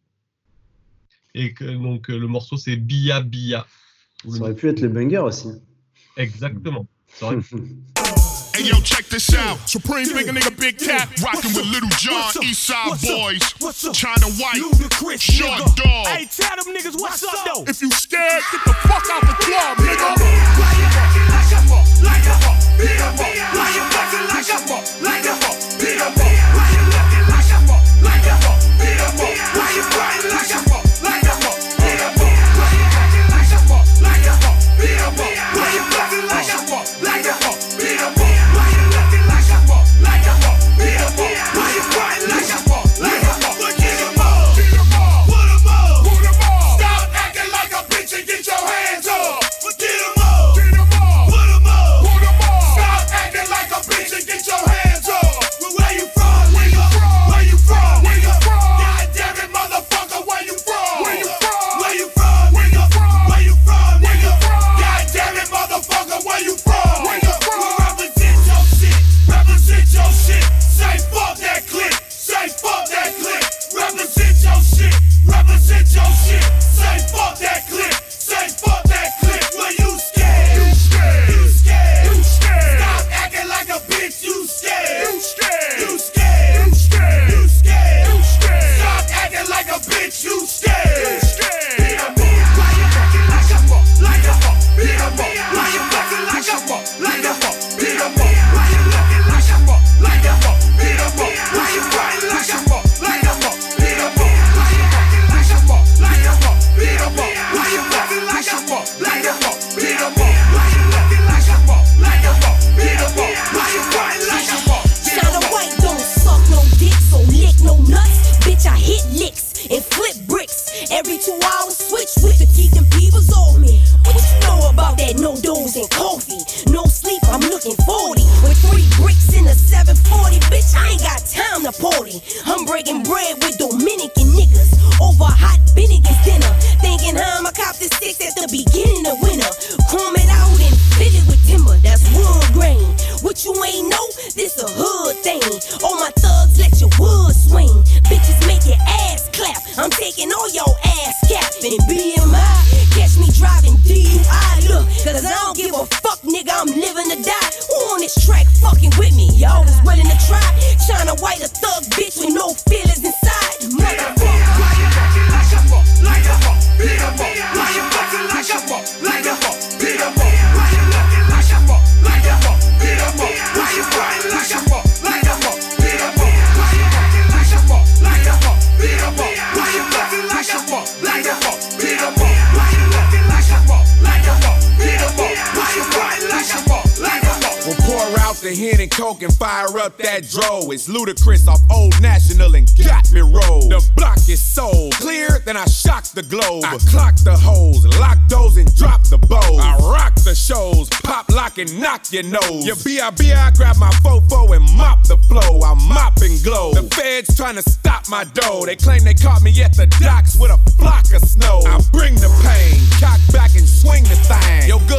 Et que, donc euh, le morceau c'est Bia Bia. Ça aurait pu être le banger aussi. Exactement. Ça aurait pu. Hey yo, check this out. Supreme big nigga, big cat, rockin' with Little John, East Side Boys, China White, Short Dog. Hey, tell them niggas what's up though. If you scared, get the fuck out the club, nigga. Why you acting like a fuck, like a fuck, beat 'em up? Why you acting like a fuck, like a fuck, beat 'em up? Why you looking like a fuck, like a fuck, beat 'em up? Why you crying like a fuck, like a fuck, beat 'em up? Why you acting like a fuck, like a fuck, beat 'em up? Why you acting like a fuck, like a fuck, beat 'em up? Why you looking like a fuck, like a fuck, beat 'em up? Why you crying like a fuck, like a fuck, beat 'em up? Beat 'em up, put 'em up, put 'em up. Stop acting like a bitch and get your hands up. Get 'em up, get 'em up, put 'em up, put 'em up. Stop acting like a bitch and get your hands up. Well, where you from, nigga? Where you from, nigga? God damn it, motherfucker, where you from? Where you from? Where you from, nigga? Where you from, nigga? God damn it, motherfucker, where you from? Where you from? Well, represent your shit, represent your shit. Say fuck that click, say fuck that click. Represent your shit, represent your shit. Say fuck that click, say fuck that click. Well, you scared, you scared, you scared, you scared. Stop acting like a bitch, you scared, you scared, you scared, you scared, you scared, you scared. Stop acting like a bitch, you scared, you scared. Beat 'em up. Why you acting like a fuck, like a fuck? Beat 'em up. Why you acting like a fuck, like a fuck? Beat 'em up. Why you looking like a fuck, like a fuck? Beat 'em up. Why you crying like a fuck, like a fuck? Beat 'em up. Why you acting like a fuck, like a fuck? Beat 'em up. Why you acting like a fuck, like a fuck? Beat 'em up. Why you looking like a fuck, like a fuck? Beat 'em up. Why you crying like a fuck? China White don't suck no dick, so lick no nuts. Bitch, I hit licks and flip bricks. Every two hours, switch with the keep them peoples on me. What you know about that no dose and coffee? No sleep, I'm looking forty. With three bricks in a seven forty, bitch, I ain't got time to party. I'm breaking bread with Dominican niggas over hot Bennigan's dinner. Thinking how I'ma cop the six at the beginning of winter. Chrome it out and fit it with timber, that's wood grain. What you ain't know, this a hood thing. All my thugs let your wood swing. Bitches make your ass clap. I'm taking all your ass cap. And B M I, catch me driving D U I. Look, cause I don't give a fuck, nigga, I'm living to die. Who on this track fucking with me? Y'all was willing to try. China White, a thug bitch with no feelings inside. Motherfucker. Why you acting like a fuck, like a fuck? Beat 'em up. Why you acting like a fuck, like a fuck? Beat 'em up. Why you looking like a fuck, like a fuck? Beat 'em up. Why you crying like a fuck, like a fuck? Beat 'em up. Why you acting like a fuck, like a fuck? Beat 'em up. Why you acting like a fuck, like a fuck? Beat 'em up. Why you looking like a fuck, like a fuck? Beat 'em up. Why you crying like a fuck, like a fuck? We'll pour out the hen and coke and fire up that dro. It's ludicrous off Old National and got me rolled. The block is so clear, then I shock the globe. I clock the hoes, lock those and drop the bows. I rock the shows, pop, lock and knock your nose. Your B I B I grab my fofo and mop the flow. I mop and glow. The feds trying to stop my dough. They claim they caught me at the docks with a flock of snow. I bring the pain, cock back and swing the thing. Yo, good mad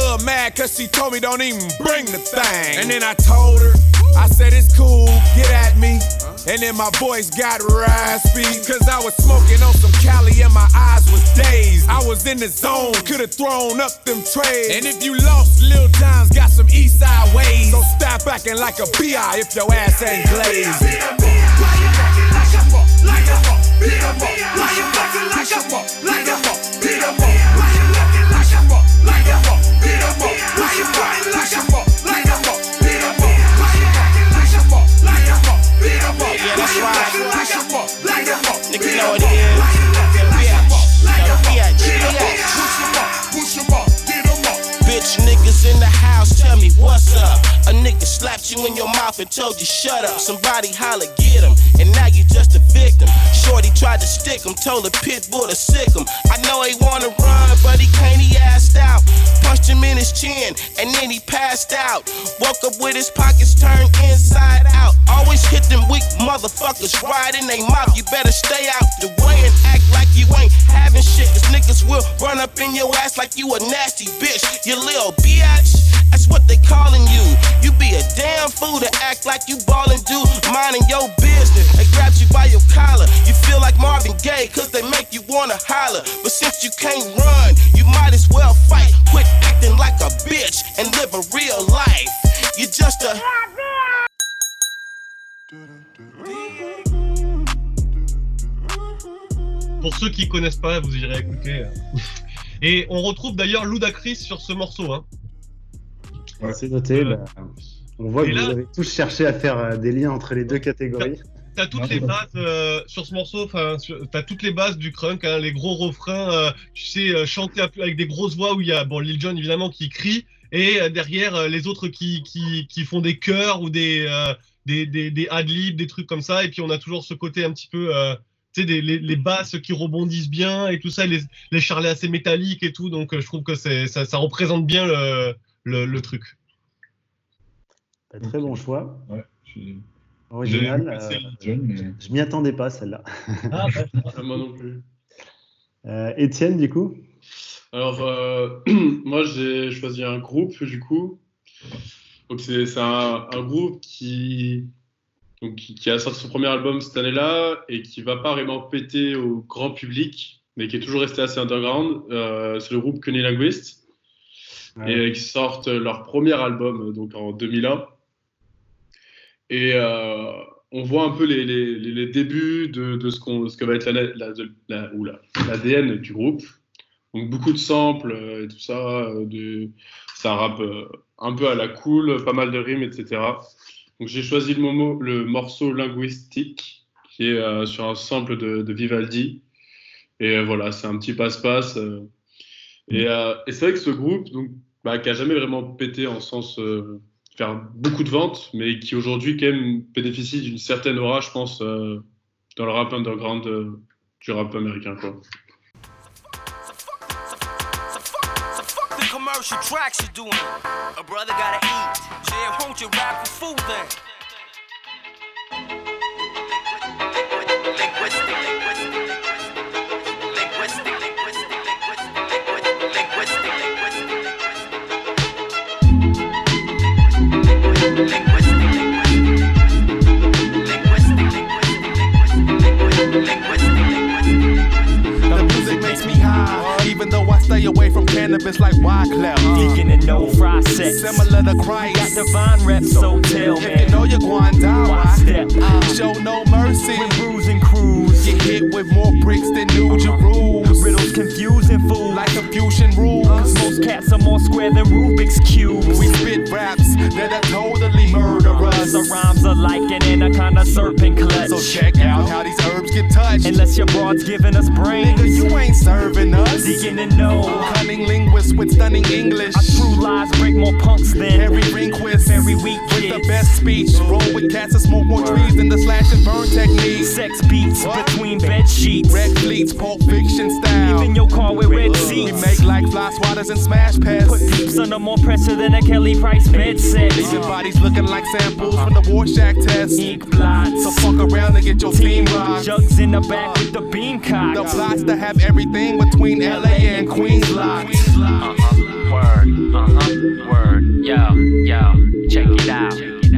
mad cause she told me don't even bring the thing. And then I told her, I said it's cool, get at me. And then my voice got raspy, cause I was smoking on some Cali and my eyes was dazed. I was in the zone, could've thrown up them trays. And if you lost, Lil Jon's got some east side ways. So stop acting like a B I if your ass ain't glazed. Beat 'em up, why you acting like a fuck, like a fuck? Beat 'em up, why you acting like a fuck, like a fuck? Beat 'em up, why you acting like a fuck, like a fuck? Beat 'em up, why you acting like a fuck, like a fuck? Beat 'em up, why you acting like a fuck, like a fuck? Beat 'em up, yeah, that's right. like a fuck, like a fuck? Niggas know what it is. Push 'em up, push 'em up, get 'em up. Bitch niggas in the house, tell me what's up. A nigga slapped you in your mouth and told you shut up. Somebody holla, get him, and now you just a victim. Shorty tried to stick him, told the pit bull to sick him. I know he wanna run, but he can't, he assed out. Punched him in his chin, and then he passed out. Woke up with his pockets turned inside out. Always hit them weak motherfuckers right in they mouth. You better stay out the way and act like you ain't having shit. Cause niggas will run up in your ass like you a nasty bitch. You little bitch, that's what they calling you. You be a damn fool to act like you ballin', dude, minding your business. They grabbed you by your collar. You feel like Marvin Gaye cause they make you wanna holler. But since you can't run, you might as well fight. Quit acting like a bitch and live a real life. You just a... Pour ceux qui connaissent pas, vous irez écouter. Et on retrouve d'ailleurs Ludacris sur ce morceau. Hein. Ouais, c'est noté. Euh, bah, on voit que là, vous avez tous cherché à faire des liens entre les deux catégories. T'as, t'as toutes ouais, les bases euh, sur ce morceau. Enfin, t'as toutes les bases du crunk, hein, les gros refrains. Euh, tu sais euh, chanter avec des grosses voix où il y a bon Lil Jon évidemment qui crie et euh, derrière euh, les autres qui, qui qui font des chœurs ou des euh, des des, des ad-libs, des trucs comme ça. Et puis on a toujours ce côté un petit peu euh, tu sais des les, les basses qui rebondissent bien et tout ça, les les charlets assez métalliques et tout. Donc euh, je trouve que c'est ça, ça représente bien le Le, le truc. Très bon choix. Ouais, j'ai... Original. Euh, John, mais... Je m'y attendais pas celle-là. Ah, bah, moi non plus. Euh, Étienne, du coup. Alors, euh, moi j'ai choisi un groupe du coup. Donc c'est, c'est un, un groupe qui, donc, qui, qui a sorti son premier album cette année-là et qui va pas vraiment péter au grand public, mais qui est toujours resté assez underground. Euh, c'est le groupe Cunnilinguist. Ouais. Et qui sortent leur premier album donc en deux mille un et euh, on voit un peu les, les, les débuts de, de ce, qu'on, ce que va être la, la, la, oula, l'A D N du groupe, donc beaucoup de samples et tout ça, de, c'est un rap un peu à la cool, pas mal de rimes, etc. Donc j'ai choisi le, momo, le morceau Linguistique qui est euh, sur un sample de, de Vivaldi et euh, voilà, c'est un petit passe-passe euh, et, euh, et c'est vrai que ce groupe donc Bah, qui a jamais vraiment pété en sens euh, faire beaucoup de ventes, mais qui aujourd'hui quand même bénéficie d'une certaine aura, je pense, euh, dans le rap underground euh, du rap américain, quoi. Commercial tracks you doing, a brother gotta eat. Yeah, won't you rap for food then? The music makes me high, even though I stay away from cannabis like Wyclef. Deacon and no fry sex. Similar to Christ. Got divine reps, so tell if me. you know you're going down, why step? Uh, show no mercy. When bruising crews get hit with more bricks than New Jerusalem. Riddles confusing fools like Confucian rules. Cause most cats are more square than Rubik's cubes. We spit raps that are totally murderous. The rhymes are like an anaconda serpent clutch. So check out how these herbs get touched. Unless your broad's giving us brains, nigga, you ain't serving us. Deacon and no cunning linguist with stunning English. Our true lies break more punks than every Rehnquist. Very weak with kids. The best speech. Roll with cats and smoke more trees than the slash and burn technique. Sex beats what? Between bed sheets. Red fleets, Pulp Fiction style. Even your car with red seats. We make like fly swatters and smash pads. Put peeps under more pressure than a Kelly Price bed set. Leaving bodies looking like samples from the Rorschach test. Ink blots. So fuck around and get your team rocked. Jugs in the back with the bean cock. The plots to have everything between L A and Queens Lock. Uh-huh. Word. Uh-huh. Word, yo, yo, check it out.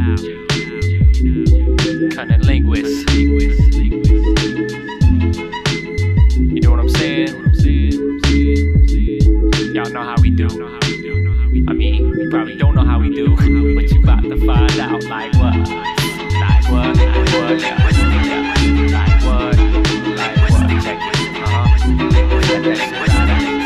Cunning linguist. You know what I'm saying? Y'all know how we do. I mean, you probably don't know how we do, but you about to find out. Like what? Like what? Like what? Yeah. Yeah. Like what? Like what? Check it. Uh-huh. Check that shit out.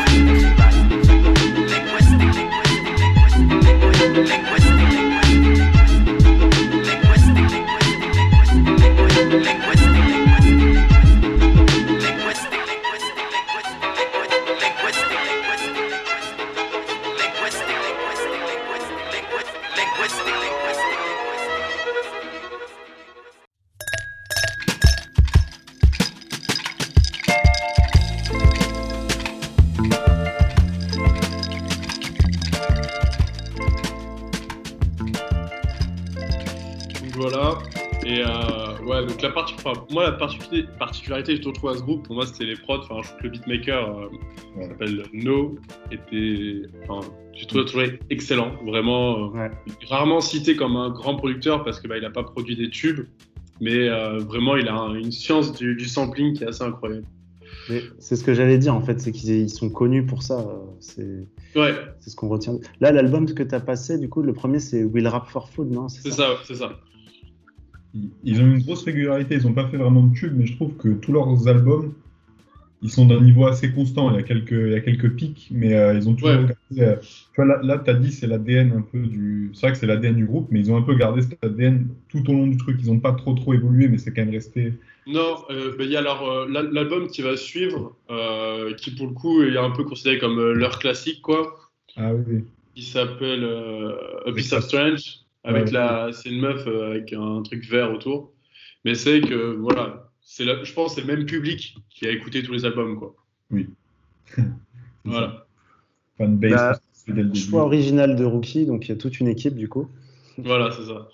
Voilà. Et euh, ouais, donc la partie, enfin, moi, la particularité, particularité que je trouve à ce groupe, pour moi, c'était les prods. Enfin, je trouve que le beatmaker, euh, qui s'appelle No, était, enfin, j'ai trouvé, trouvé excellent. Vraiment, euh, ouais. Rarement cité comme un grand producteur parce que bah, il a pas produit des tubes, mais euh, vraiment, il a un, une science du, du sampling qui est assez incroyable. Mais c'est ce que j'allais dire en fait, c'est qu'ils sont connus pour ça. C'est, ouais. c'est ce qu'on retient. Là, l'album que tu as passé, du coup, le premier, c'est Will Rap for Food, non? C'est, c'est ça, ça c'est ça. Ils ont une grosse régularité, ils n'ont pas fait vraiment de tubes, mais je trouve que tous leurs albums, ils sont d'un niveau assez constant. Il y a quelques, il y a quelques pics, mais euh, ils ont toujours ouais. gardé. Euh, tu vois, là, là tu as dit c'est l'A D N un peu du. C'est vrai que c'est l'A D N du groupe, mais ils ont un peu gardé cet A D N tout au long du truc. Ils n'ont pas trop trop évolué, mais c'est quand même resté. Non, euh, bah, il y a leur, euh, l'album qui va suivre, euh, qui pour le coup est un peu considéré comme euh, leur classique, quoi. Ah oui. oui. Il s'appelle euh, A Piece of Strange. Avec ouais, la, c'est une meuf euh, avec un truc vert autour. Mais c'est que, voilà, c'est la, je pense que c'est le même public qui a écouté tous les albums, quoi. Oui. Voilà. Fanbase, bah, c'est dès le début. Choix original de Rookie, donc il y a toute une équipe, du coup. Voilà, c'est ça.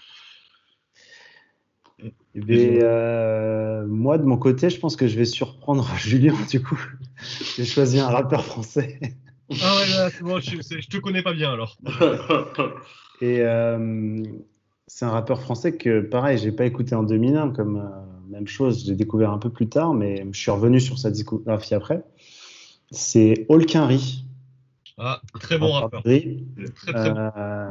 Et bien, euh, moi, de mon côté, je pense que je vais surprendre Julien, du coup. J'ai choisi un rappeur français. Ah ouais, là, c'est bon, je, je te connais pas bien, alors. Et euh, c'est un rappeur français que, pareil, j'ai pas écouté en deux mille un, comme euh, même chose, j'ai découvert un peu plus tard, mais je suis revenu sur sa discographie après. C'est Olkinry. Ah, très bon rappeur. Très, très bon. Euh,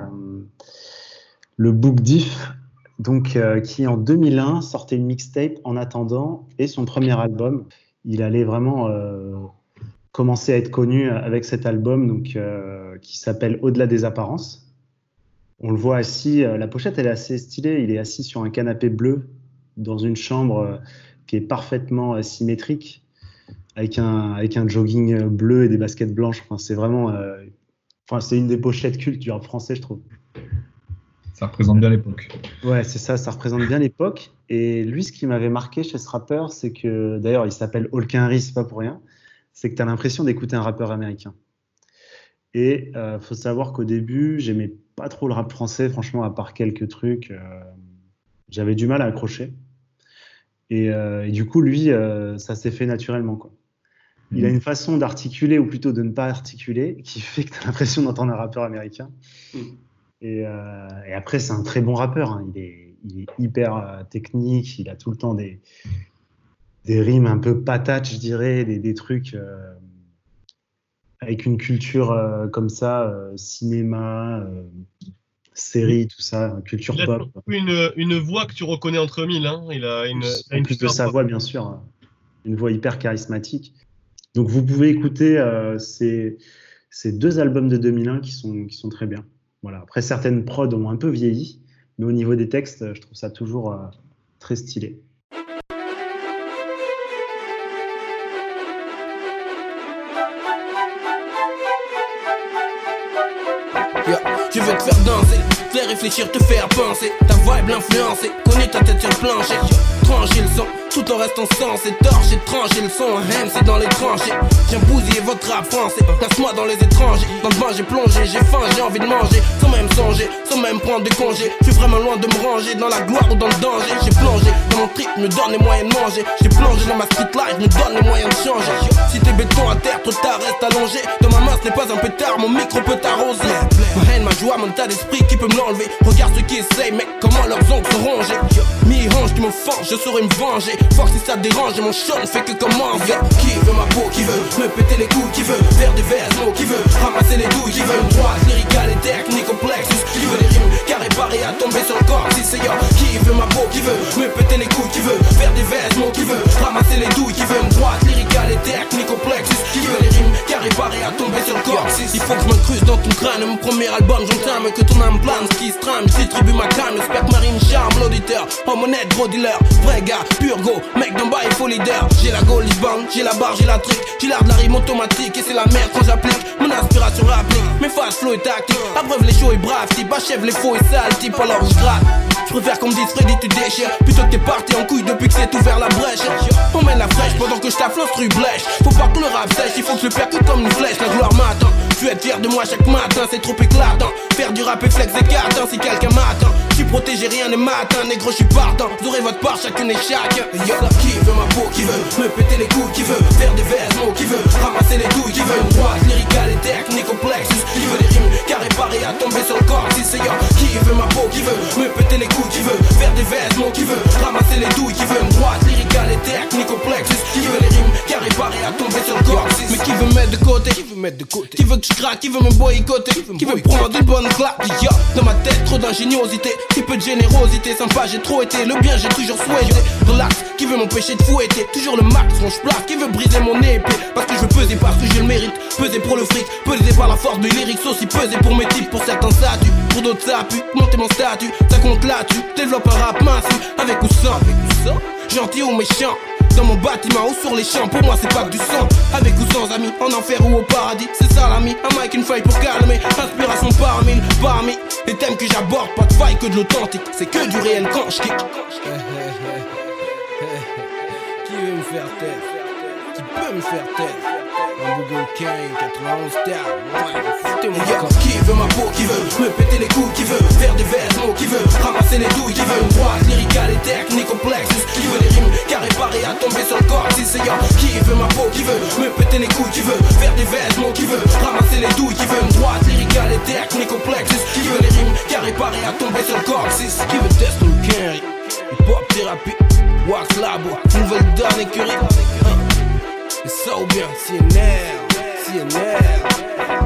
le Book Diff, donc, euh, qui en deux mille un sortait une mixtape en attendant, et son premier album. Il allait vraiment euh, commencer à être connu avec cet album, donc, euh, qui s'appelle Au-delà des apparences. On le voit assis, euh, la pochette elle est assez stylée, il est assis sur un canapé bleu dans une chambre euh, qui est parfaitement euh, symétrique, avec un, avec un jogging bleu et des baskets blanches. Enfin, c'est vraiment, euh, enfin, c'est une des pochettes cultes du rap français, je trouve. Ça représente bien l'époque. Ouais, c'est ça, ça représente bien l'époque. Et lui, ce qui m'avait marqué chez ce rappeur, c'est que, d'ailleurs, il s'appelle Olkinry, c'est pas pour rien, c'est que tu as l'impression d'écouter un rappeur américain. Et il euh, faut savoir qu'au début, j'aimais pas trop le rap français, franchement, à part quelques trucs. Euh, j'avais du mal à accrocher. Et, euh, et du coup, lui, euh, ça s'est fait naturellement, quoi. Il a une façon d'articuler, ou plutôt de ne pas articuler, qui fait que tu as l'impression d'entendre un rappeur américain. Mm. Et, euh, et après, c'est un très bon rappeur. Hein. Il, est, il est hyper euh, technique, il a tout le temps des, des rimes un peu patates, je dirais, des, des trucs... Euh, avec une culture euh, comme ça, euh, cinéma, euh, série, tout ça, culture il a pop. Une, une voix que tu reconnais entre mille. Hein. Il a une, en une plus de sa voix, bien sûr, hein. Une voix hyper charismatique. Donc vous pouvez écouter euh, ces, ces deux albums de deux mille un qui sont, qui sont très bien. Voilà. Après, certaines prods ont un peu vieilli, mais au niveau des textes, je trouve ça toujours euh, très stylé. Je veux te faire danser, te faire réfléchir, te faire penser. Ta vibe l'influencer, connais ta tête sur le plancher. Trancher le son, tout en restant sensé. Torcher, trancher le son, M c'est dans les tranchées. Viens bousiller votre rap français, place-moi dans les étrangers. Dans le bain j'ai plongé, j'ai faim, j'ai envie de manger. Sans même songer, sans même prendre de congé. Je suis vraiment loin de me ranger, dans la gloire ou dans le danger. J'ai plongé dans mon trip, me donne les moyens de manger. J'ai plongé dans ma street life, me donne les moyens de changer. Si t'es béton à terre, trop tard, reste allongé. Dans ma main ce n'est pas un pétard, mon micro peut t'arroser. joie, mon tas d'esprit qui peut me l'enlever. Regarde ceux qui essayent, mec, comment leurs ongles sont rongés. Mi-range qui me fange, je saurais me venger. Fuck si ça te dérange, mon show ne fait que commencer. Qui veut ma peau, qui veut me péter les couilles, qui veut faire des vêtements, qui veut ramasser les douilles, qui veut une droite lyricale et technique complexe, qui veut des rimes carré paré à tomber sur le corps. Si c'est yo, qui veut ma peau, qui veut me péter les couilles, qui veut faire des vêtements, qui veut ramasser les douilles, qui veut une droite lyricale et technique complexe, qui veut les rimes carré paré à tomber sur le corps. Il faut que je me creuse dans ton crâne, mon premier album j'entame, que ton âme plane, ce qui se trame, distribue ma canne, j'espère que ma rime charme l'auditeur. Homme honnête, gros dealer, vrai gars, pur go, mec d'en bas il faut leader. J'ai la go, Lisbonne, j'ai la barre, j'ai la trick, j'ai l'art de la rime automatique et c'est la merde quand j'applique mon inspiration rapide, mes phases flow et tactique, abreuve les shows et brave type, achève les faux et sales type, alors je gratte. Je préfère qu'on me dise Freddy tu déchires, plutôt que t'es parti en couille depuis que c'est ouvert la brèche. On mène la fraîche pendant que je taffe l'instru blèche. Faut pas que le rap sèche, il faut que je le percute comme une flèche. La gloire m'attend, tu es fier de moi chaque matin, c'est trop éclatant. Faire du rap et flex et carton si quelqu'un m'attend. J'suis protégé, rien ne m'atteint, négro j'suis partant. Vous aurez votre part chacune et chacun. Yo, qui veut ma peau, qui veut me péter les couilles, qui veut faire des vêtements, qui veut ramasser les douilles, qui veut une droite lyricale et technique complexe, qui veut des rimes carré paré à tomber sur le corps. Si c'est yo, qui veut ma peau, qui veut me péter les couilles, qui veut faire des vêtements, qui veut ramasser les douilles, qui veut une droite lyricale et technique complexe, qui veut les rimes carré paré à tomber sur le corps. Mais qui veut mettre de côté, qui veut mettre de côté, qui veut que je craque, qui veut me boycotter, qui veut prendre une bonne claque. Yo, dans ma tête trop d'ingéniosité, qui peu de générosité, sympa j'ai trop été, le bien j'ai toujours souhaité. Relax, qui veut m'empêcher de fouetter, toujours le max quand je place, qui veut briser mon épée, parce que je veux peser parce que je le mérite, peser pour le fric, peser par la force de lyrics, aussi peser pour mes types, pour certains statuts, pour d'autres ça pue, monter mon statut, ça compte là-dessus, développe un rap massif, avec ou sans, avec ou sans, gentil ou méchant. Dans mon bâtiment ou sur les champs, pour moi c'est pas que du sang. Avec ou sans amis, en enfer ou au paradis, c'est ça l'ami. Un mic, une feuille pour calmer, inspiration par mille. Parmi les thèmes que j'aborde, pas de faille que de l'authentique, c'est que du réel quand je kick. Qui veut me faire taire? Qui peut me faire taire? Un Google King, quatre-vingt-onze terres, ouais, foutez mon gars. Qui veut ma peau, qui veut me péter les couilles, qui veut faire des vêtements, qui veut ramasser les douilles, qui veut une droite lyricale et technique complexe, qui veut des rimes carré paré à tomber sur le corps. Si c'est yo, qui veut ma peau, qui veut me péter les couilles, qui veut faire des vêtements, qui veut ramasser les douilles, qui veut une droite lyricale et technique complexe, qui veut les rimes carré paré à tomber sur le corps. Si qui veut tester le carry, hip-hop thérapie, wax labo, nouvelle donne écurie. Et ça ou bien, C N R, C N R.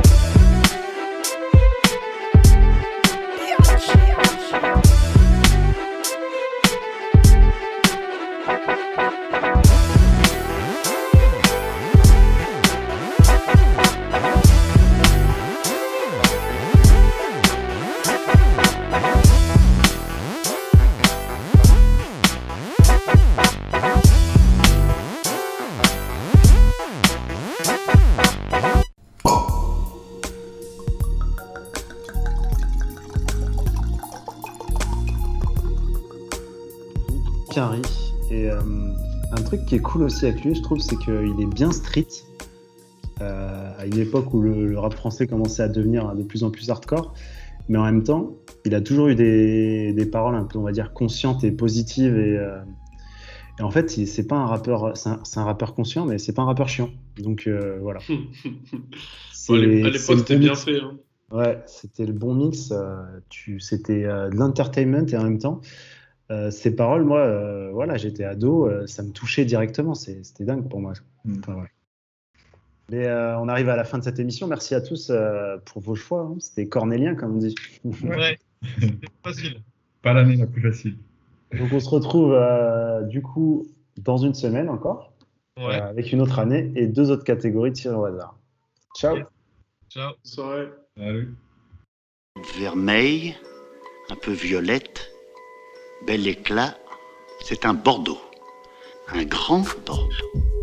Harry. Et euh, un truc qui est cool aussi avec lui, je trouve, c'est qu'il est bien street. Euh, à une époque où le, le rap français commençait à devenir de plus en plus hardcore, mais en même temps, il a toujours eu des, des paroles un peu, on va dire, conscientes et positives. Et, euh, et en fait, il, c'est pas un rappeur, c'est un, c'est un rappeur conscient, mais c'est pas un rappeur chiant. Donc euh, voilà. C'est, à l'époque, c'était bien fait. Hein. Ouais, c'était le bon mix. Euh, tu, c'était euh, de l'entertainment et en même temps. Euh, ces paroles, moi, euh, voilà, j'étais ado, euh, ça me touchait directement, c'est, c'était dingue pour moi. Mm. Enfin, ouais. Mais euh, on arrive à la fin de cette émission. Merci à tous euh, pour vos choix. Hein. C'était cornélien, comme on dit. Ouais, c'était facile. Pas l'année la plus facile. Donc on se retrouve euh, du coup dans une semaine encore, ouais. euh, avec une autre année et deux autres catégories tirées au hasard. Ciao. Yeah. Ciao. Soirée. Salut. Vermeil, un peu violette. Bel éclat, c'est un Bordeaux, un grand Bordeaux.